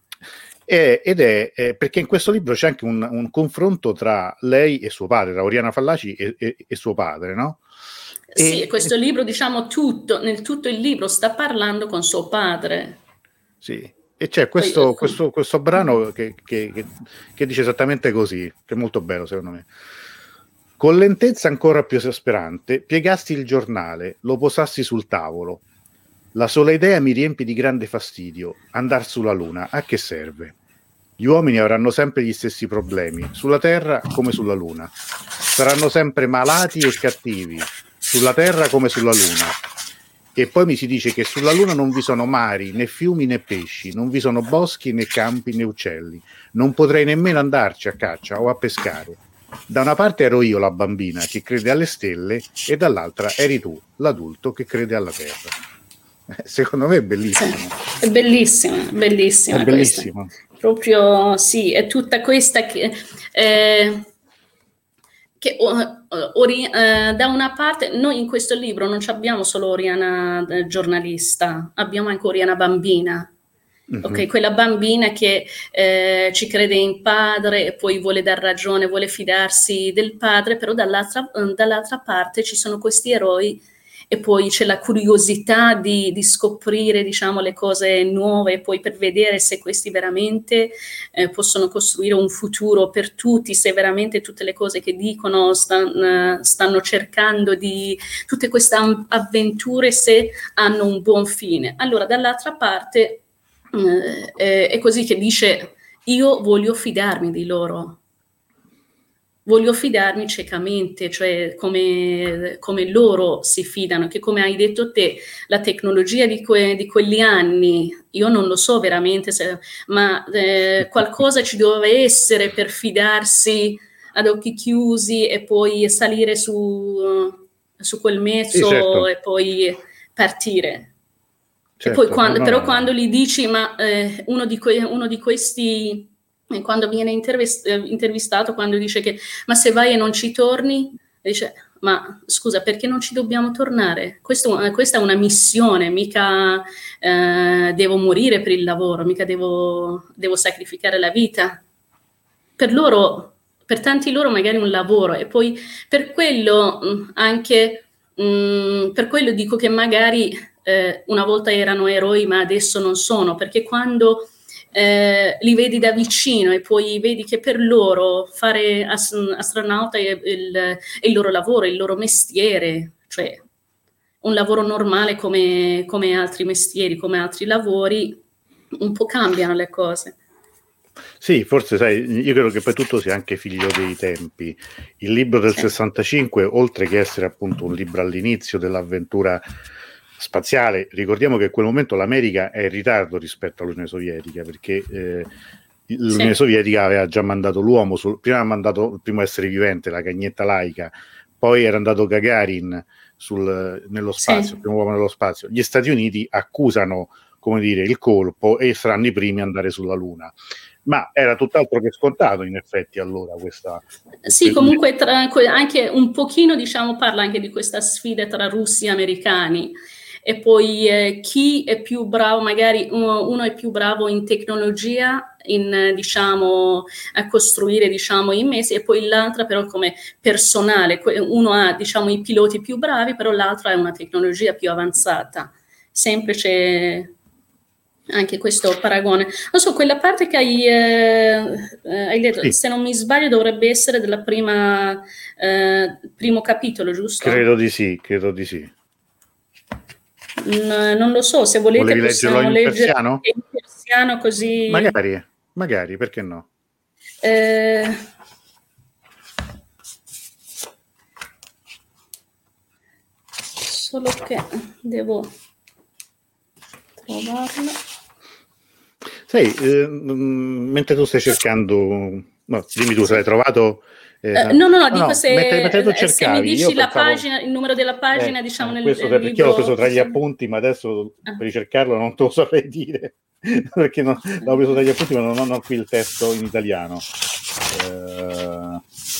è, ed è, è perché in questo libro c'è anche un, un confronto tra lei e suo padre, tra Oriana Fallaci e, e, e suo padre, no? Sì, E, questo libro, diciamo, tutto, nel tutto il libro sta parlando con suo padre. sì, e c'è Poi, questo, questo, questo brano che, che, che, che dice esattamente così, che è molto bello secondo me. Con lentezza ancora più esasperante, piegasti il giornale, lo posassi sul tavolo. La sola idea mi riempie di grande fastidio. Andar sulla Luna, a che serve? Gli uomini avranno sempre gli stessi problemi, sulla Terra come sulla Luna. Saranno sempre malati e cattivi, sulla Terra come sulla Luna. E poi mi si dice che sulla Luna non vi sono mari, né fiumi né pesci, non vi sono boschi né campi né uccelli. Non potrei nemmeno andarci a caccia o a pescare. Da una parte ero io la bambina che crede alle stelle e dall'altra eri tu, l'adulto che crede alla Terra. Secondo me è bellissimo. Sì, è bellissima, bellissima È questa. bellissimo. Proprio sì, è tutta questa che, eh, che ori, eh, da una parte noi in questo libro non abbiamo solo Oriana eh, giornalista, abbiamo anche Oriana bambina. Mm-hmm. Ok, quella bambina che eh, ci crede in padre e poi vuole dar ragione, vuole fidarsi del padre, però dall'altra, dall'altra parte ci sono questi eroi e poi c'è la curiosità di, di scoprire, diciamo, le cose nuove, e poi per vedere se questi veramente eh, possono costruire un futuro per tutti, se veramente tutte le cose che dicono stan, stanno cercando di, tutte queste avventure, se hanno un buon fine. Allora, dall'altra parte eh, è così che dice: io voglio fidarmi di loro, voglio fidarmi ciecamente, cioè come, come loro si fidano, che come hai detto te, la tecnologia di, que, di quegli anni, io non lo so veramente, se, ma eh, qualcosa ci doveva essere per fidarsi ad occhi chiusi e poi salire su, su quel mezzo, sì, certo. e poi partire. Certo, e poi quando, no, però no. quando gli dici, ma eh, uno, di que- uno di questi, eh, quando viene intervist- eh, intervistato, quando dice che, ma se vai e non ci torni, dice, ma scusa, perché non ci dobbiamo tornare? Questo, eh, questa è una missione, mica eh, devo morire per il lavoro, mica devo, devo sacrificare la vita. Per loro, per tanti loro magari un lavoro, e poi per quello mh, anche mh, per quello dico che magari eh, una volta erano eroi ma adesso non sono, perché quando eh, li vedi da vicino e poi vedi che per loro fare as- astronauta è il, è il loro lavoro, è il loro mestiere, cioè un lavoro normale come, come altri mestieri, come altri lavori, un po' cambiano le cose. Sì, forse sai, io credo che poi tutto sia anche figlio dei tempi. Il libro del Sì. sessantacinque, oltre che essere appunto un libro all'inizio dell'avventura spaziale, ricordiamo che in quel momento l'America è in ritardo rispetto all'Unione Sovietica, perché eh, l'Unione Sì. Sovietica aveva già mandato l'uomo, sul, prima ha mandato il primo essere vivente, la cagnetta laica, poi era andato Gagarin sul, nello spazio, Sì. il primo uomo nello spazio. Gli Stati Uniti accusano, come dire, il colpo e saranno i primi ad andare sulla Luna. Ma era tutt'altro che scontato, in effetti, allora questa... Sì, comunque tra, anche un pochino, diciamo, parla anche di questa sfida tra russi e americani, e poi eh, chi è più bravo, magari uno, uno è più bravo in tecnologia, in, diciamo, a costruire, diciamo, i mezzi, e poi l'altra però come personale, uno ha, diciamo, i piloti più bravi, però l'altro ha una tecnologia più avanzata. Sempre c'è anche questo paragone. Non so, quella parte che hai, eh, hai letto, sì. Se non mi sbaglio dovrebbe essere della prima eh, primo capitolo, giusto? Credo di sì, credo di sì. N- non lo so, se volete Volevi possiamo leggerlo in leggere persiano? in persiano, così... Magari, magari, perché no? Eh, solo che devo trovarlo. Sai, eh, mentre tu stai cercando, no, dimmi tu se l'hai trovato. Eh, Uh, no, no, no, dico no, se, mentre, mentre tu cercavi, se mi dici io la pensavo, pagina, il numero della pagina, eh, diciamo, eh, nel, questo nel perché io l'ho preso libro. tra gli appunti, ma adesso Ah. per ricercarlo non te lo saprei dire, perché non, l'ho preso tra gli appunti, ma non ho qui il testo in italiano. Eh,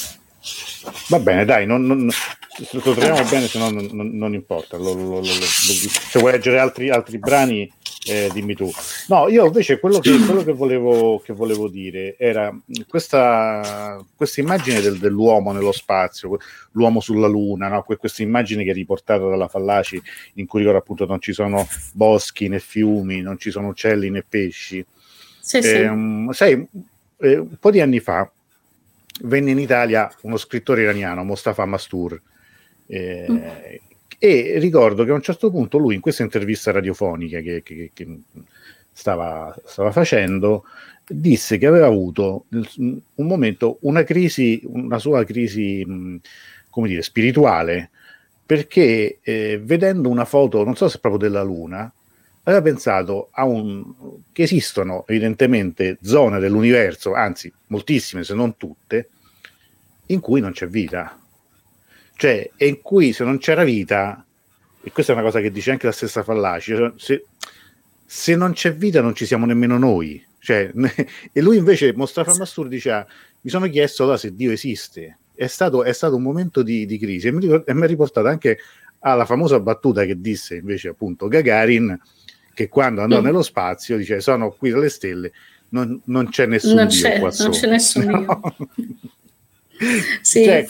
va bene, dai, non, non, se lo troviamo bene, se no non, non, non importa. Lo, lo, lo, se vuoi leggere altri, altri brani, eh, dimmi tu. No, io invece quello che, quello che, volevo, che volevo dire era questa, questa immagine del, dell'uomo nello spazio, l'uomo sulla Luna, no? Questa immagine che è riportata dalla Fallaci, in cui appunto non ci sono boschi né fiumi, non ci sono uccelli né pesci. Sì, eh, sì. Sai, eh, un po' di anni fa venne in Italia uno scrittore iraniano, Mostafa Mastur, eh, mm. e ricordo che a un certo punto lui, in questa intervista radiofonica che, che, che stava, stava facendo, disse che aveva avuto un momento, una crisi, una sua crisi, mh, come dire, spirituale, perché eh, vedendo una foto, non so se proprio della Luna, aveva pensato a un, che esistono evidentemente zone dell'universo, anzi moltissime se non tutte, in cui non c'è vita, cioè e in cui se non c'era vita, e questa è una cosa che dice anche la stessa Fallaci, cioè, se, se non c'è vita non ci siamo nemmeno noi, cioè, e lui invece Mostafa Mastur diceva, mi sono chiesto allora se Dio esiste, è stato, è stato un momento di, di crisi, e mi, e mi ha riportato anche alla famosa battuta che disse invece appunto Gagarin, che quando andò mm. nello spazio dice sono qui dalle stelle, non, non c'è nessun non Dio c'è, qua non sopra. c'è nessun no? Dio. Sì. Cioè,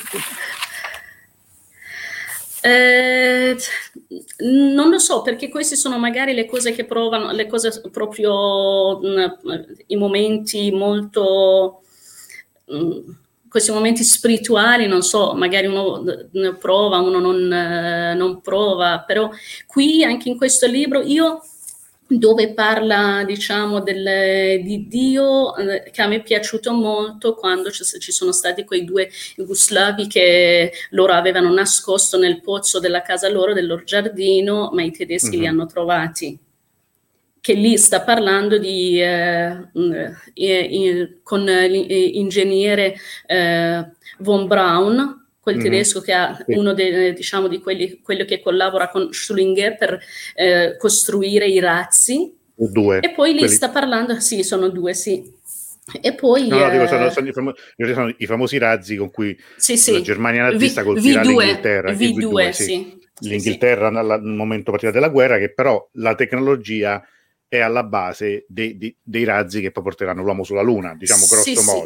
eh, non lo so, perché queste sono magari le cose che provano, le cose proprio mh, i momenti molto mh, questi momenti spirituali, non so, magari uno ne prova, uno non, eh, non prova, però qui anche in questo libro io, dove parla, diciamo, del, di Dio, eh, che a me è piaciuto molto quando ci, ci sono stati quei due jugoslavi che loro avevano nascosto nel pozzo della casa loro, del loro giardino, ma i tedeschi mm-hmm. li hanno trovati. Che lì sta parlando di eh, eh, con l'ingegnere eh, von Braun, quel mm-hmm. tedesco che ha sì. uno dei, diciamo, di quelli, quello che collabora con Schlesinger per eh, costruire i razzi. Due. E poi lì quelli... sta parlando, sì, sono due, sì. E poi no, no, eh... dico, sono, sono, i famo- sono i famosi razzi con cui sì, sì. la Germania nazista v- colpirà V due, l'Inghilterra. V due, V due sì. sì. Sì, L'Inghilterra sì. nel momento partita della guerra, che però la tecnologia è alla base dei, dei, dei razzi che poi porteranno l'uomo sulla Luna, diciamo grosso sì, modo.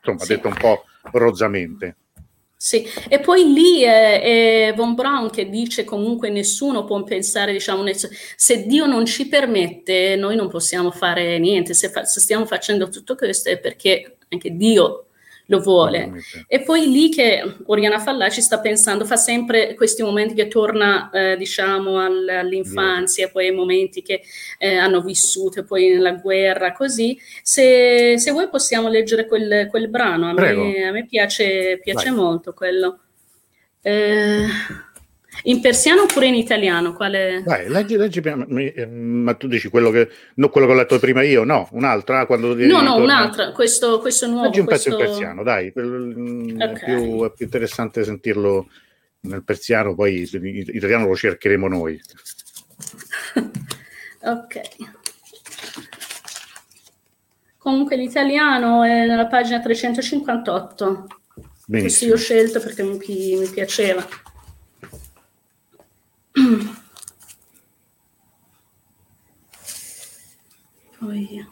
insomma, sì. detto un po' rozzamente. Sì, e poi lì è, è Von Braun che dice comunque nessuno può pensare, diciamo, se Dio non ci permette, noi non possiamo fare niente, se, fa, se stiamo facendo tutto questo è perché anche Dio lo vuole. E poi lì che Oriana Fallaci sta pensando, fa sempre questi momenti che torna, eh, diciamo, all, all'infanzia, poi ai momenti che eh, hanno vissuto, poi nella guerra, così. Se, se vuoi possiamo leggere quel, quel brano, a me, a me piace, piace molto quello. Eh, in persiano oppure in italiano? Quale... Vai, leggi, leggi, ma tu dici quello che, no, quello che ho letto prima io, no, un'altra? Quando no, no, torna... un'altra, questo, questo nuovo. Leggi un questo... pezzo in persiano, dai, okay. è, più, è più interessante sentirlo nel persiano, poi in italiano lo cercheremo noi. Ok. Comunque l'italiano è nella pagina trecentocinquantotto. Benissimo. Questo io ho scelto perché mi, mi piaceva. Poi...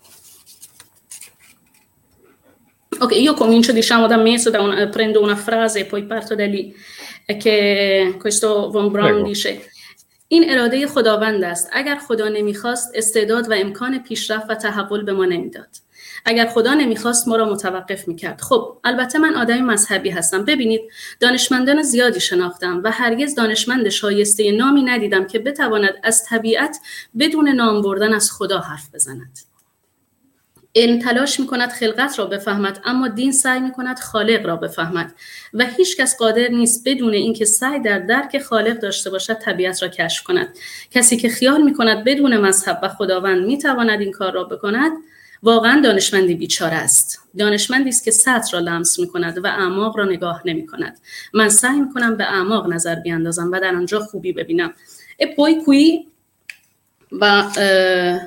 Ok, io comincio, diciamo, da me, da una, prendo una frase e poi parto da lì. È che questo Von Braun Prego. dice: این اراده خداوند است. اگر خدا نمیخواست استعداد و امکان پیشرفت و تحول به ما نمیداد. اگر خدا نمیخواست ما را متوقف میکرد. خب البته من آدمی مذهبی هستم. ببینید دانشمندان زیادی شناختم و هرگز دانشمند شایسته نامی ندیدم که بتواند از طبیعت بدون نام بردن از خدا حرف بزند. علم تلاش میکند خلقت را بفهمد، اما دین سعی میکند خالق را بفهمد و هیچ کس قادر نیست بدون اینکه سعی در درک خالق داشته باشد طبیعت را کشف کند. کسی که خیال میکند بدون مذهب و خداوند میتواند این کار را بکند واقعا دانشمندی بیچاره است. دانشمندی است که سطح را لمس میکند و اعماق را نگاه نمیکند. من سعی میکنم به اعماق نظر بیاندازم و در آنجا خوبی ببینم. E poi qui va eh,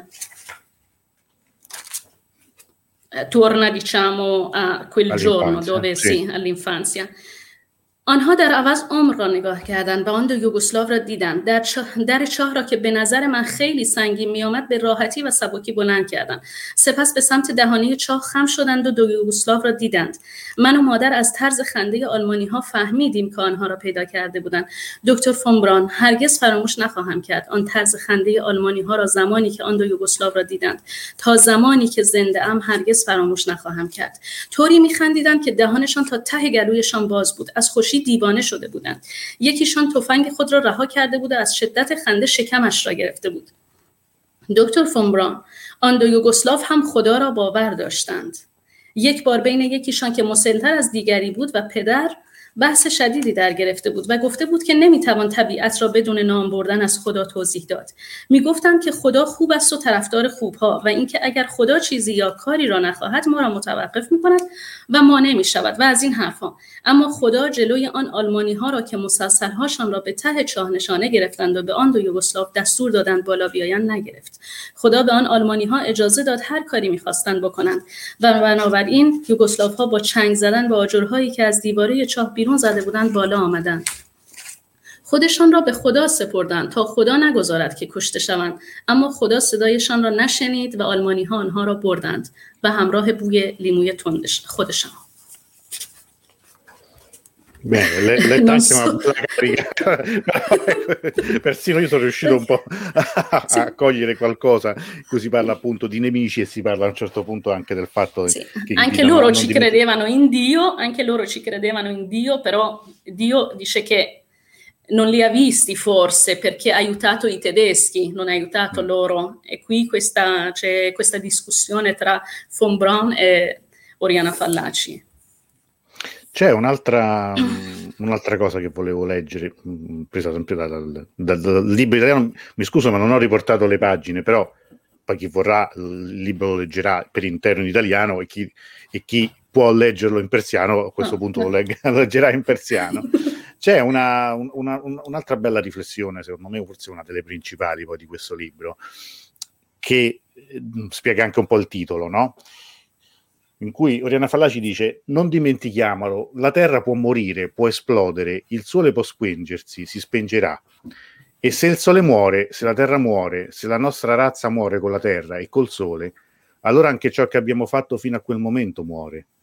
torna, diciamo, a quel giorno dove sì, sì all'infanzia. آنها در عوض عمر را نگاه کردند و آن دو یوگسلاو را دیدند. در, چه... در چاه را که به نظر من خیلی سنگین می آمد به راحتی و سبکی بلند کردند. سپس به سمت دهانه چاه خم شدند و دو یوگسلاو را دیدند. من و مادر از طرز خنده آلمانی ها فهمیدیم که آنها را پیدا کرده بودند. دکتر فون بران، هرگز فراموش نخواهم کرد آن طرز خنده آلمانی ها را زمانی که آن دو یوگسلاو را دیدند. تا زمانی که زنده ام هرگز فراموش نخواهم کرد. طوری می‌خندیدند که دهانشان تا ته گلویشان باز بود. از خوشی دیوانه شده بودند. یکیشان تفنگ خود را رها کرده بود و از شدت خنده شکمش را گرفته بود. دکتر فون بران، آن دو یوگسلاو هم خدا را باور داشتند. یک بار بین یکیشان که مسن‌تر از دیگری بود و پدر بحث شدیدی در گرفته بود و گفته بود که نمیتوان طبیعت را بدون نام بردن از خدا توضیح داد. میگفتند که خدا خوب است و طرفدار خوبها و اینکه اگر خدا چیزی یا کاری را نخواهد ما را متوقف میکند و مانع میشود و از این حرفا. اما خدا جلوی آن آلمانی ها را که مسلسل‌هاشان را به ته چاه نشانه گرفتند و به آن دو یوگسلاو دستور دادند بالا بیایند نگرفت. خدا به آن آلمانی ها اجازه داد هر کاری میخواستند بکنند و بنابراین یوگسلاو ها با چنگ زدن به آجرهایی که از دیواره چاه بیرون زده بودند بالا آمدند. خودشان را به خدا سپردند تا خدا نگذارد که کشته شوند، اما خدا صدایشان را نشنید و آلمانی ها آنها را بردند و همراه بوی لیموی تندش خودشان. Bene, le, le tanti so. Persino io sono riuscito un po' a, sì. a cogliere qualcosa. Qui si parla appunto di nemici e si parla a un certo punto anche del fatto sì. che anche loro ci credevano in Dio, anche loro ci credevano in Dio, però Dio dice che non li ha visti forse perché ha aiutato i tedeschi, non ha aiutato mm. loro. E qui questa, c'è questa discussione tra Von Braun e Oriana Fallaci. C'è un'altra, un'altra cosa che volevo leggere, presa sempre dal, dal, dal libro italiano, mi scuso ma non ho riportato le pagine, però poi chi vorrà il libro lo leggerà per intero in italiano e chi, e chi può leggerlo in persiano a questo punto lo, legg- lo leggerà in persiano. C'è una, una, un'altra bella riflessione, secondo me forse una delle principali poi di questo libro, che spiega anche un po' il titolo, no? In cui Oriana Fallaci dice: non dimentichiamolo, la Terra può morire, può esplodere, il Sole può spengersi, si spengerà. E se il Sole muore, se la Terra muore, se la nostra razza muore con la Terra e col Sole, allora anche ciò che abbiamo fatto fino a quel momento muore.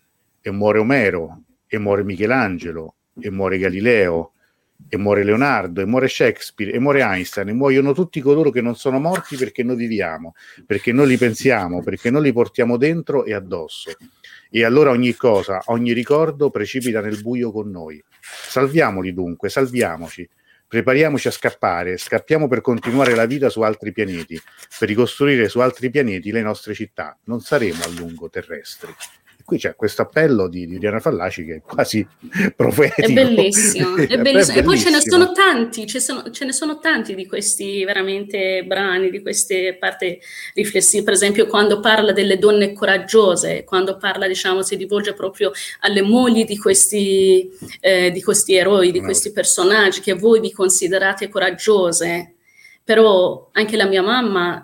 e muore Omero, e muore Michelangelo, e muore Galileo, e muore Leonardo, e muore Shakespeare, e muore Einstein, e muoiono tutti coloro che non sono morti perché noi viviamo, perché noi li pensiamo, perché noi li portiamo dentro e addosso. E allora ogni cosa, ogni ricordo precipita nel buio con noi. Salviamoli dunque, salviamoci, prepariamoci a scappare, scappiamo per continuare la vita su altri pianeti, per ricostruire su altri pianeti le nostre città. Non saremo a lungo terrestri. Qui c'è questo appello di, di Oriana Fallaci che è quasi profetico. È bellissimo, è bellissimo. È bellissimo. E poi ce ne sono tanti, ce, sono, ce ne sono tanti di questi veramente brani, di queste parti riflessive. Per esempio quando parla delle donne coraggiose, quando parla, diciamo, si rivolge proprio alle mogli di questi, eh, di questi eroi, di questi personaggi che voi vi considerate coraggiose. Però anche la mia mamma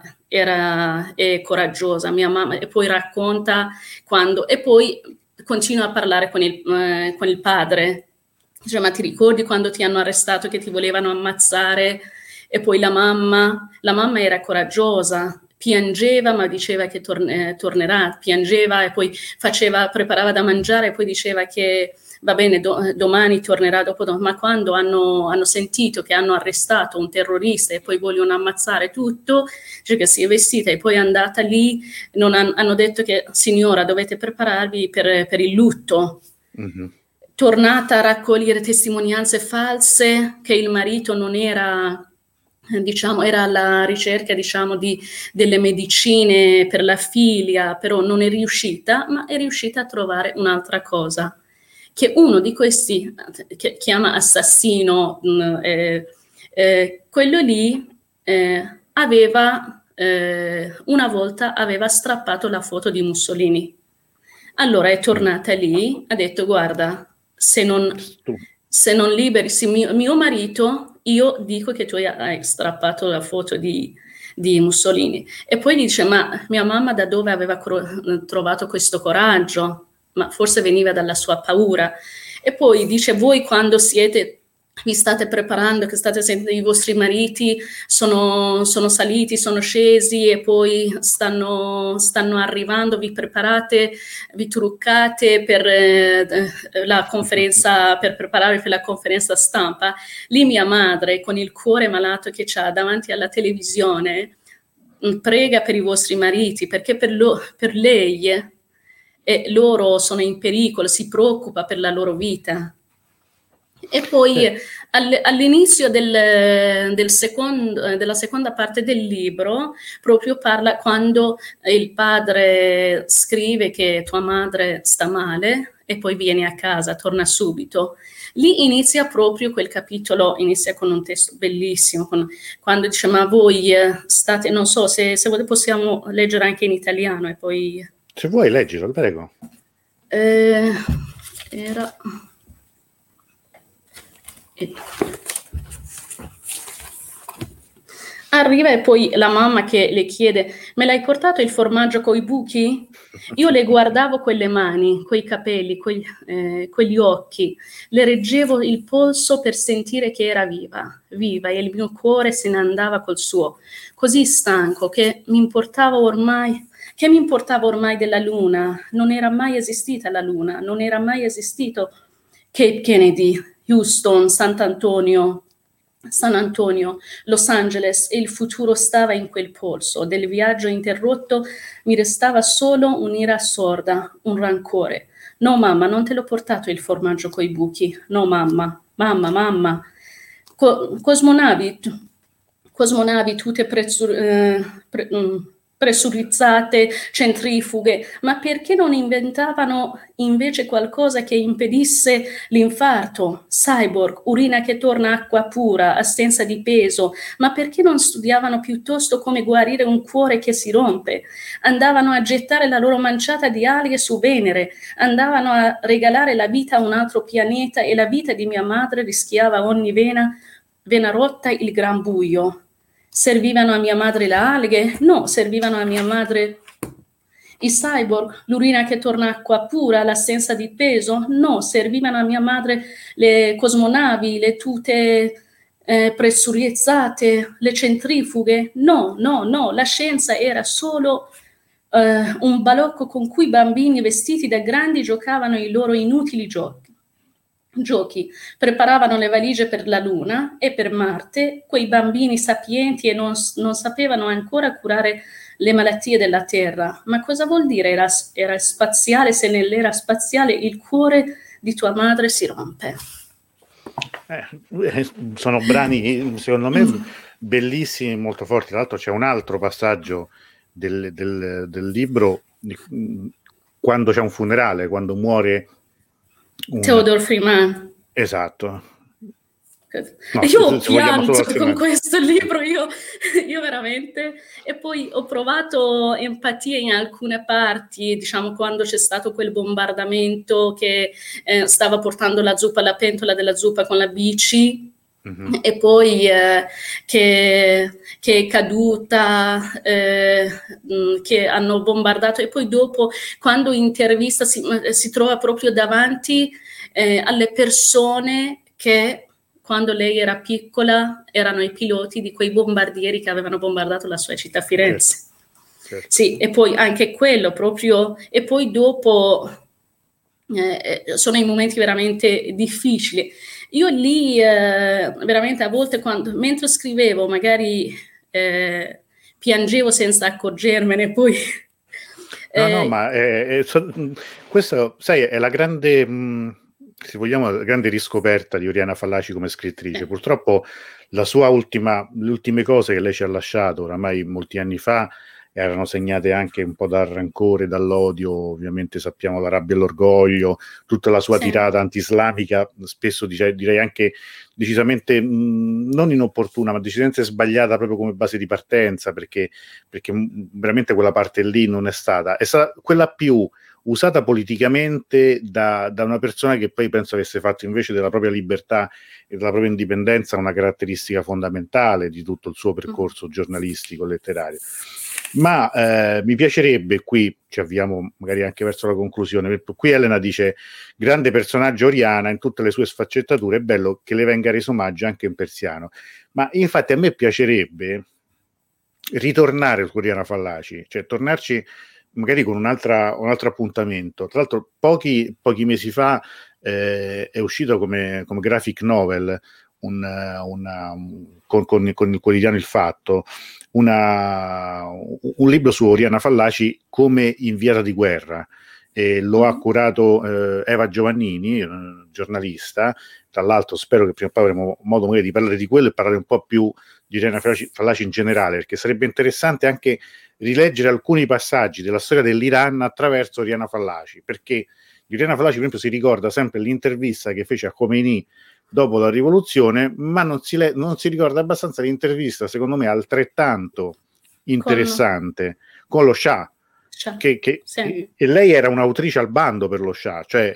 era è coraggiosa, mia mamma, e poi racconta quando, e poi continua a parlare con il, eh, con il padre, dice, ma ti ricordi quando ti hanno arrestato che ti volevano ammazzare? E poi la mamma, la mamma era coraggiosa, piangeva ma diceva che tor- eh, tornerà, piangeva e poi faceva, preparava da mangiare e poi diceva che va bene, do- domani tornerà, dopo domani. Ma quando hanno, hanno sentito che hanno arrestato un terrorista e poi vogliono ammazzare tutto, cioè che si è vestita e poi è andata lì, non han- hanno detto che signora dovete prepararvi per, per il lutto. Mm-hmm. Tornata a raccogliere testimonianze false che il marito non era, diciamo, era alla ricerca, diciamo, di, delle medicine per la figlia, però non è riuscita, ma è riuscita a trovare un'altra cosa. Che uno di questi, che chiama assassino, eh, eh, quello lì eh, aveva, eh, una volta aveva strappato la foto di Mussolini. Allora è tornata lì, ha detto guarda, se non, se non liberi se mio, mio marito, io dico che tu hai strappato la foto di, di Mussolini. E poi dice, ma mia mamma da dove aveva cro- trovato questo coraggio? Ma forse veniva dalla sua paura. E poi dice, voi quando siete, vi state preparando, che state sentendo i vostri mariti sono, sono saliti, sono scesi e poi stanno, stanno arrivando, vi preparate, vi truccate per eh, la conferenza, per prepararvi per la conferenza stampa. Lì mia madre, con il cuore malato che c'ha davanti alla televisione, prega per i vostri mariti, perché per, lo, per lei e loro sono in pericolo, si preoccupa per la loro vita. E poi eh. all, all'inizio del, del secondo, della seconda parte del libro proprio parla quando il padre scrive che tua madre sta male e poi viene a casa, torna subito. Lì inizia proprio quel capitolo, inizia con un testo bellissimo, con, quando dice ma voi state, non so se, se possiamo leggere anche in italiano e poi... Se vuoi leggilo, prego. Eh, era... Arriva e poi la mamma che le chiede me l'hai portato il formaggio coi buchi? Io le guardavo quelle mani, quei capelli, quegli, eh, quegli occhi, le reggevo il polso per sentire che era viva, viva, e il mio cuore se ne andava col suo, così stanco che mi importava ormai Che mi importava ormai della luna? Non era mai esistita la luna, non era mai esistito Cape Kennedy, Houston, Sant'Antonio, San Antonio, Los Angeles, e il futuro stava in quel polso. Del viaggio interrotto mi restava solo un'ira sorda, un rancore. No mamma, non te l'ho portato il formaggio coi buchi. No mamma, mamma, mamma. Co- cosmonavi, cosmonavi tutte prezzu- eh, pre- mm, pressurizzate, centrifughe, ma perché non inventavano invece qualcosa che impedisse l'infarto? Cyborg, urina che torna acqua pura, assenza di peso, ma perché non studiavano piuttosto come guarire un cuore che si rompe? Andavano a gettare la loro manciata di alghe su Venere, andavano a regalare la vita a un altro pianeta e la vita di mia madre rischiava ogni vena, vena rotta il gran buio. Servivano a mia madre le alghe? No, servivano a mia madre i cyborg, l'urina che torna acqua pura, l'assenza di peso? No, servivano a mia madre le cosmonavi, le tute eh, pressurizzate, le centrifughe? No, no, no, la scienza era solo uh, un balocco con cui bambini vestiti da grandi giocavano i loro inutili giochi. Giochi, preparavano le valigie per la Luna e per Marte, quei bambini sapienti e non, non sapevano ancora curare le malattie della Terra. Ma cosa vuol dire era, era spaziale se nell'era spaziale il cuore di tua madre si rompe? Eh, sono brani, secondo me, bellissimi, molto forti. Tra l'altro c'è un altro passaggio del, del, del libro, quando c'è un funerale, quando muore un... Theodore Freeman. Esatto. No, io ho pianto con questo libro, io, io veramente, e poi ho provato empatia in alcune parti, diciamo quando c'è stato quel bombardamento che eh, stava portando la zuppa, la pentola della zuppa con la bici, mm-hmm. e poi eh, che, che è caduta, eh, che hanno bombardato, e poi dopo quando intervista si, si trova proprio davanti eh, alle persone che quando lei era piccola erano i piloti di quei bombardieri che avevano bombardato la sua città, Firenze. Certo, certo. Sì, e poi anche quello proprio, e poi dopo eh, sono i momenti veramente difficili. Io lì eh, veramente a volte quando, mentre scrivevo magari eh, piangevo senza accorgermene, poi... No, no, ma è, è, so, questo, sai, è la grande... Mh... se vogliamo, la grande riscoperta di Oriana Fallaci come scrittrice. Purtroppo la sua ultima, le ultime cose che lei ci ha lasciato oramai molti anni fa erano segnate anche un po' dal rancore, dall'odio, ovviamente sappiamo la rabbia e l'orgoglio, tutta la sua sì. tirata anti-islamica, spesso dice, direi anche decisamente mh, non inopportuna, ma decisamente sbagliata proprio come base di partenza, perché, perché mh, veramente quella parte lì non è stata, è stata quella più usata politicamente da, da una persona che poi penso avesse fatto invece della propria libertà e della propria indipendenza una caratteristica fondamentale di tutto il suo percorso giornalistico, letterario. Ma eh, mi piacerebbe, qui ci avviamo magari anche verso la conclusione, qui Elena dice grande personaggio Oriana in tutte le sue sfaccettature, è bello che le venga reso omaggio anche in persiano, ma infatti a me piacerebbe ritornare su Oriana Fallaci, cioè tornarci magari con un'altra, un altro appuntamento. Tra l'altro pochi, pochi mesi fa eh, è uscito come, come graphic novel un, una, con, con, con il quotidiano Il Fatto una, un libro su Oriana Fallaci come inviata di guerra, e lo ha curato eh, Eva Giovannini, eh, giornalista. Tra l'altro spero che prima o poi avremo modo magari di parlare di quello e parlare un po' più di Oriana Fallaci, Fallaci in generale, perché sarebbe interessante anche rileggere alcuni passaggi della storia dell'Iran attraverso Oriana Fallaci, perché di Oriana Fallaci per esempio si ricorda sempre l'intervista che fece a Khomeini dopo la rivoluzione, ma non si, le- non si ricorda abbastanza l'intervista, secondo me altrettanto interessante, con, con lo Shah, che, che sì. e lei era un'autrice al bando per lo Shah, cioè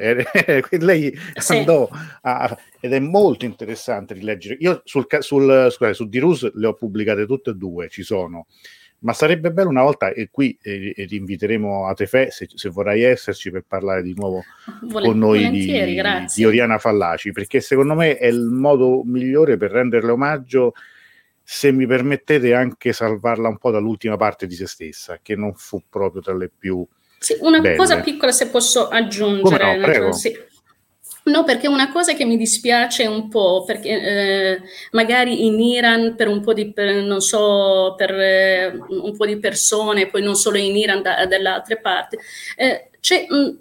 lei sì. andò a, ed è molto interessante rileggere. Io sul, sul, scusate, su Dirus le ho pubblicate tutte e due, ci sono, ma sarebbe bello una volta, e qui eh, eh, inviteremo a Tefè se, se vorrai esserci per parlare di nuovo Vol- con noi di, di Oriana Fallaci, perché secondo me è il modo migliore per renderle omaggio, se mi permettete anche salvarla un po' dall'ultima parte di se stessa, che non fu proprio tra le più sì, una belle. Cosa piccola se posso aggiungere. Come no, prego. Sì. No, perché una cosa che mi dispiace un po', perché eh, magari in Iran per un po' di, per, non so, per eh, un po' di persone, poi non solo in Iran, da, dalle altre parti, eh, c'è, mh,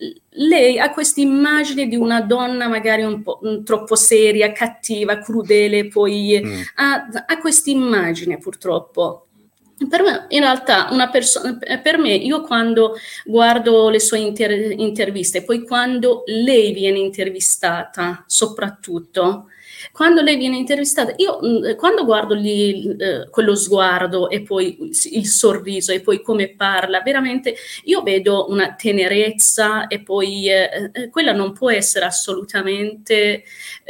lei ha questa immagine di una donna magari un po' mh, troppo seria, cattiva, crudele, poi mm. ha, ha questa immagine purtroppo. Per me, in realtà, una persona, per me, io quando guardo le sue inter- interviste, poi quando lei viene intervistata, soprattutto, quando lei viene intervistata, io quando guardo lì eh, quello sguardo e poi il sorriso e poi come parla, veramente io vedo una tenerezza, e poi eh, quella non può essere assolutamente,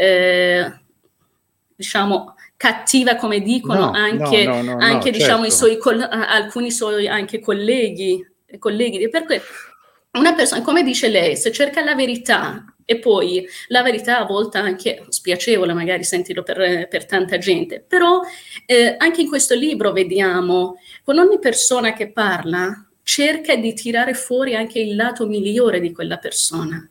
eh, diciamo, cattiva, come dicono no, anche, no, no, no, anche no, diciamo certo. i suoi coll- alcuni suoi anche colleghi, colleghi. Perché una persona, come dice lei, se cerca la verità, e poi la verità a volte anche spiacevole, magari sentirlo per, per tanta gente, però eh, anche in questo libro vediamo con ogni persona che parla cerca di tirare fuori anche il lato migliore di quella persona.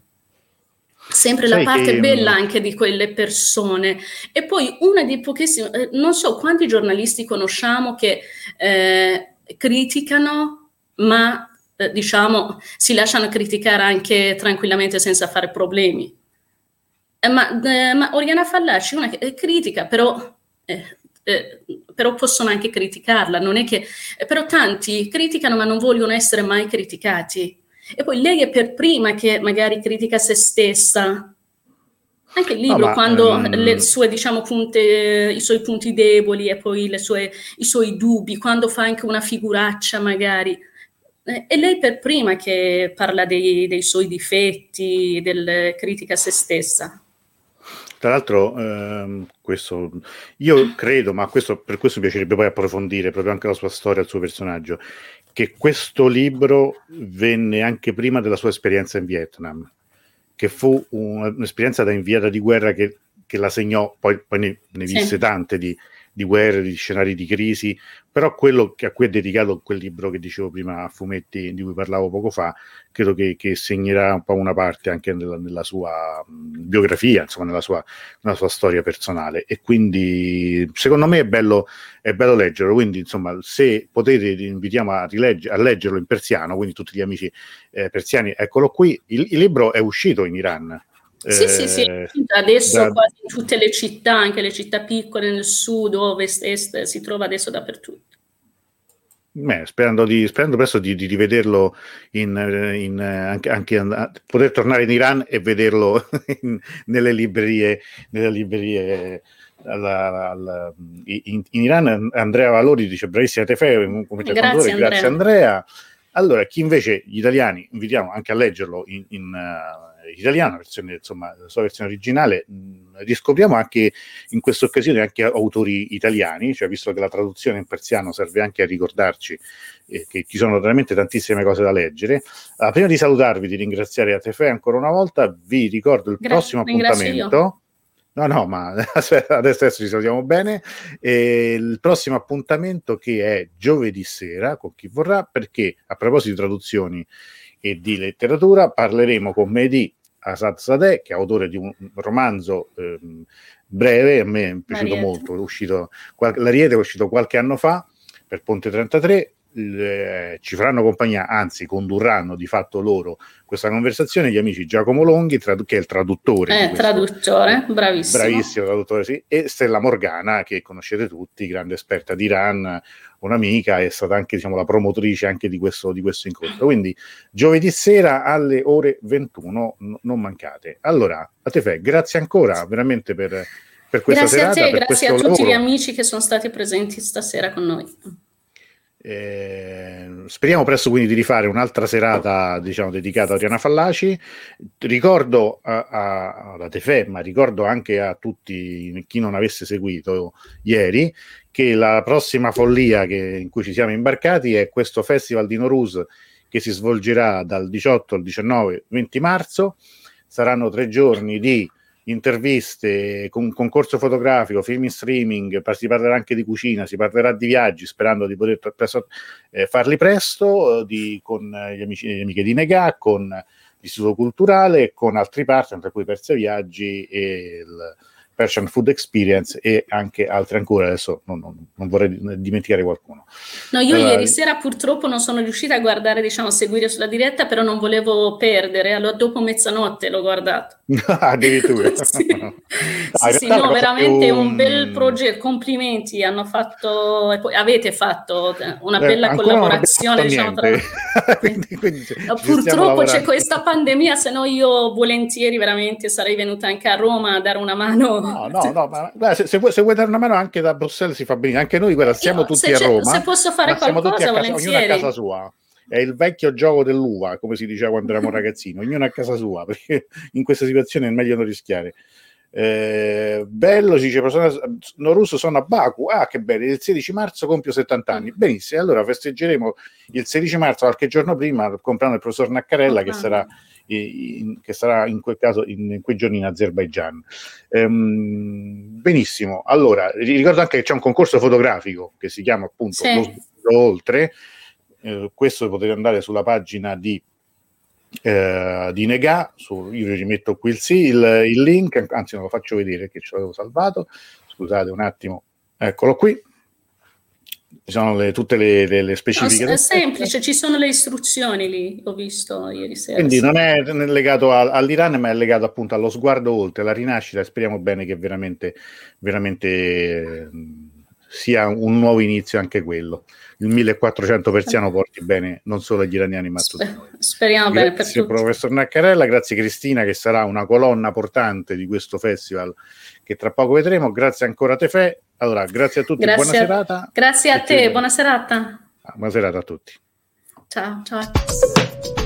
Sempre Sai la parte che, bella anche di quelle persone. E poi una di pochissime, eh, non so quanti giornalisti conosciamo che eh, criticano, ma eh, diciamo si lasciano criticare anche tranquillamente senza fare problemi. Eh, ma, eh, ma Oriana Fallaci, una che eh, critica, però, eh, eh, però possono anche criticarla, non è che, eh, però tanti criticano ma non vogliono essere mai criticati. E poi lei è per prima che magari critica se stessa. Anche il no, libro, ma quando le um, sue, diciamo, punte, i suoi punti deboli e poi le sue, i suoi dubbi, quando fa anche una figuraccia magari. Eh, è lei per prima che parla dei, dei suoi difetti, del critica se stessa. tra l'altro, ehm, questo io credo, ma questo, per questo mi piacerebbe poi approfondire proprio anche la sua storia, il suo personaggio, che questo libro venne anche prima della sua esperienza in Vietnam, che fu un, un'esperienza da inviata di guerra che, che la segnò, poi, poi ne, ne visse Sì. tante di, di guerre, di scenari di crisi, però quello che a cui è dedicato quel libro che dicevo prima a fumetti, di cui parlavo poco fa, credo che, che segnerà un po' una parte anche nella, nella sua mh, biografia, insomma nella sua, nella sua storia personale, e quindi secondo me è bello, è bello leggerlo, quindi insomma se potete vi invitiamo a, rilegge, a leggerlo in persiano, quindi tutti gli amici eh, persiani, eccolo qui, il, il libro è uscito in Iran. Sì, sì, sì, Eh, adesso da, quasi in tutte le città, anche le città piccole nel sud, ovest, est, si trova adesso dappertutto. beh, sperando, di, sperando presto di, di rivederlo in, in, anche, anche a, poter tornare in Iran e vederlo in, nelle librerie, nelle librerie alla, alla, in, in Iran. Andrea Valori dice bravissima Tefe, come Grazie, grazie Andrea. Andrea. Allora, chi invece gli italiani invitiamo anche a leggerlo in, in uh, italiano, versione, insomma, la sua versione originale, mh, riscopriamo anche in questa occasione anche autori italiani, cioè visto che la traduzione in persiano serve anche a ricordarci eh, che ci sono veramente tantissime cose da leggere. Uh, prima di salutarvi, di ringraziare a Tefe ancora una volta, vi ricordo il Gra- prossimo ringrazio appuntamento. io. No, no, ma adesso, adesso ci salutiamo bene. E il prossimo appuntamento che è giovedì sera, con chi vorrà, perché a proposito di traduzioni e di letteratura parleremo con Mehdi Asadsadeh, che è autore di un romanzo ehm, breve, a me è piaciuto Mariette. molto, è uscito, l'Ariete è uscito qualche anno fa per Ponte trentatré. Eh, ci faranno compagnia, anzi condurranno di fatto loro questa conversazione gli amici Giacomo Longhi, tradu- che è il traduttore Eh, di questo, traduttore, eh, bravissimo. bravissimo traduttore, sì, e Stella Morgana, che conoscete tutti, grande esperta di Iran, un'amica, è stata anche diciamo la promotrice anche di questo, di questo incontro. Quindi giovedì sera alle ore ventuno, n- non mancate. Allora, a te Fe, grazie ancora veramente per, per questa Grazie serata, a te, per grazie a questo tutti lavoro. gli amici che sono stati presenti stasera con noi. Eh, speriamo presto quindi di rifare un'altra serata diciamo dedicata a Oriana Fallaci. Ricordo a, a, alla Tefe, ma ricordo anche a tutti chi non avesse seguito ieri che la prossima follia che, in cui ci siamo imbarcati è questo festival di Nowruz che si svolgerà dal diciotto al diciannove venti marzo. Saranno tre giorni di interviste, con concorso fotografico, film in streaming, si parlerà anche di cucina, si parlerà di viaggi, sperando di poter presto, eh, farli presto, di, con gli amici e le amiche di Negà, con l'Istituto Culturale, con altri partner, tra cui Persia Viaggi e il Persian Food Experience e anche altri ancora, adesso non, non, non vorrei dimenticare qualcuno. No, io allora, ieri sera purtroppo non sono riuscita a guardare, diciamo, a seguire sulla diretta, però non volevo perdere, allora dopo mezzanotte l'ho guardato. Addirittura. Sì, No, sì, sì, no, veramente più, un bel progetto, complimenti, hanno fatto, e poi avete fatto una eh, bella ancora non abbiamo collaborazione, fatto diciamo, tra... niente. quindi, quindi No, ci stiamo purtroppo c'è lavorando. questa pandemia, se no io volentieri veramente sarei venuta anche a Roma a dare una mano. No, no, no, ma guarda, se, se, vuoi, se vuoi dare una mano anche da Bruxelles si fa bene, anche noi guarda, siamo Io, tutti se, a se Roma, posso fare ma siamo tutti a qualcosa, casa, ognuno a casa volentieri. sua. È il vecchio gioco dell'uva, come si diceva quando eravamo ragazzini, ognuno a casa sua, perché in questa situazione è meglio non rischiare. Eh, bello, ci dice Nowruz, sono a Baku, ah che bello, il sedici marzo compio settanta anni, benissimo, allora festeggeremo il sedici marzo, qualche giorno prima, comprando il professor Naccarella, oh, che sarà in, che sarà in quel caso in, in quei giorni in Azerbaigian. Ehm, benissimo, allora ricordo anche che c'è un concorso fotografico che si chiama appunto sì. Lo Sguardo Oltre, eh, questo potete andare sulla pagina di eh, di Negà, su, io ci metto qui il, sì, il, il link, anzi non lo faccio vedere che ce l'avevo salvato, scusate un attimo, eccolo qui, ci sono le, tutte le, le, le specifiche. No, è semplice, ci sono le istruzioni lì, ho visto ieri sera. Quindi sì. non è legato a, all'Iran, ma è legato appunto allo sguardo oltre, alla rinascita, e speriamo bene che veramente, veramente eh, sia un nuovo inizio anche quello. Il millequattrocento persiano porti bene non solo agli iraniani ma a tutti noi. Speriamo grazie, bene per tutti. Professor Naccarella, grazie Cristina che sarà una colonna portante di questo festival che tra poco vedremo, grazie ancora a Tefè. Allora, grazie a tutti, grazie buona a, serata. Grazie a te, buona serata. Buona serata a tutti. Ciao, ciao.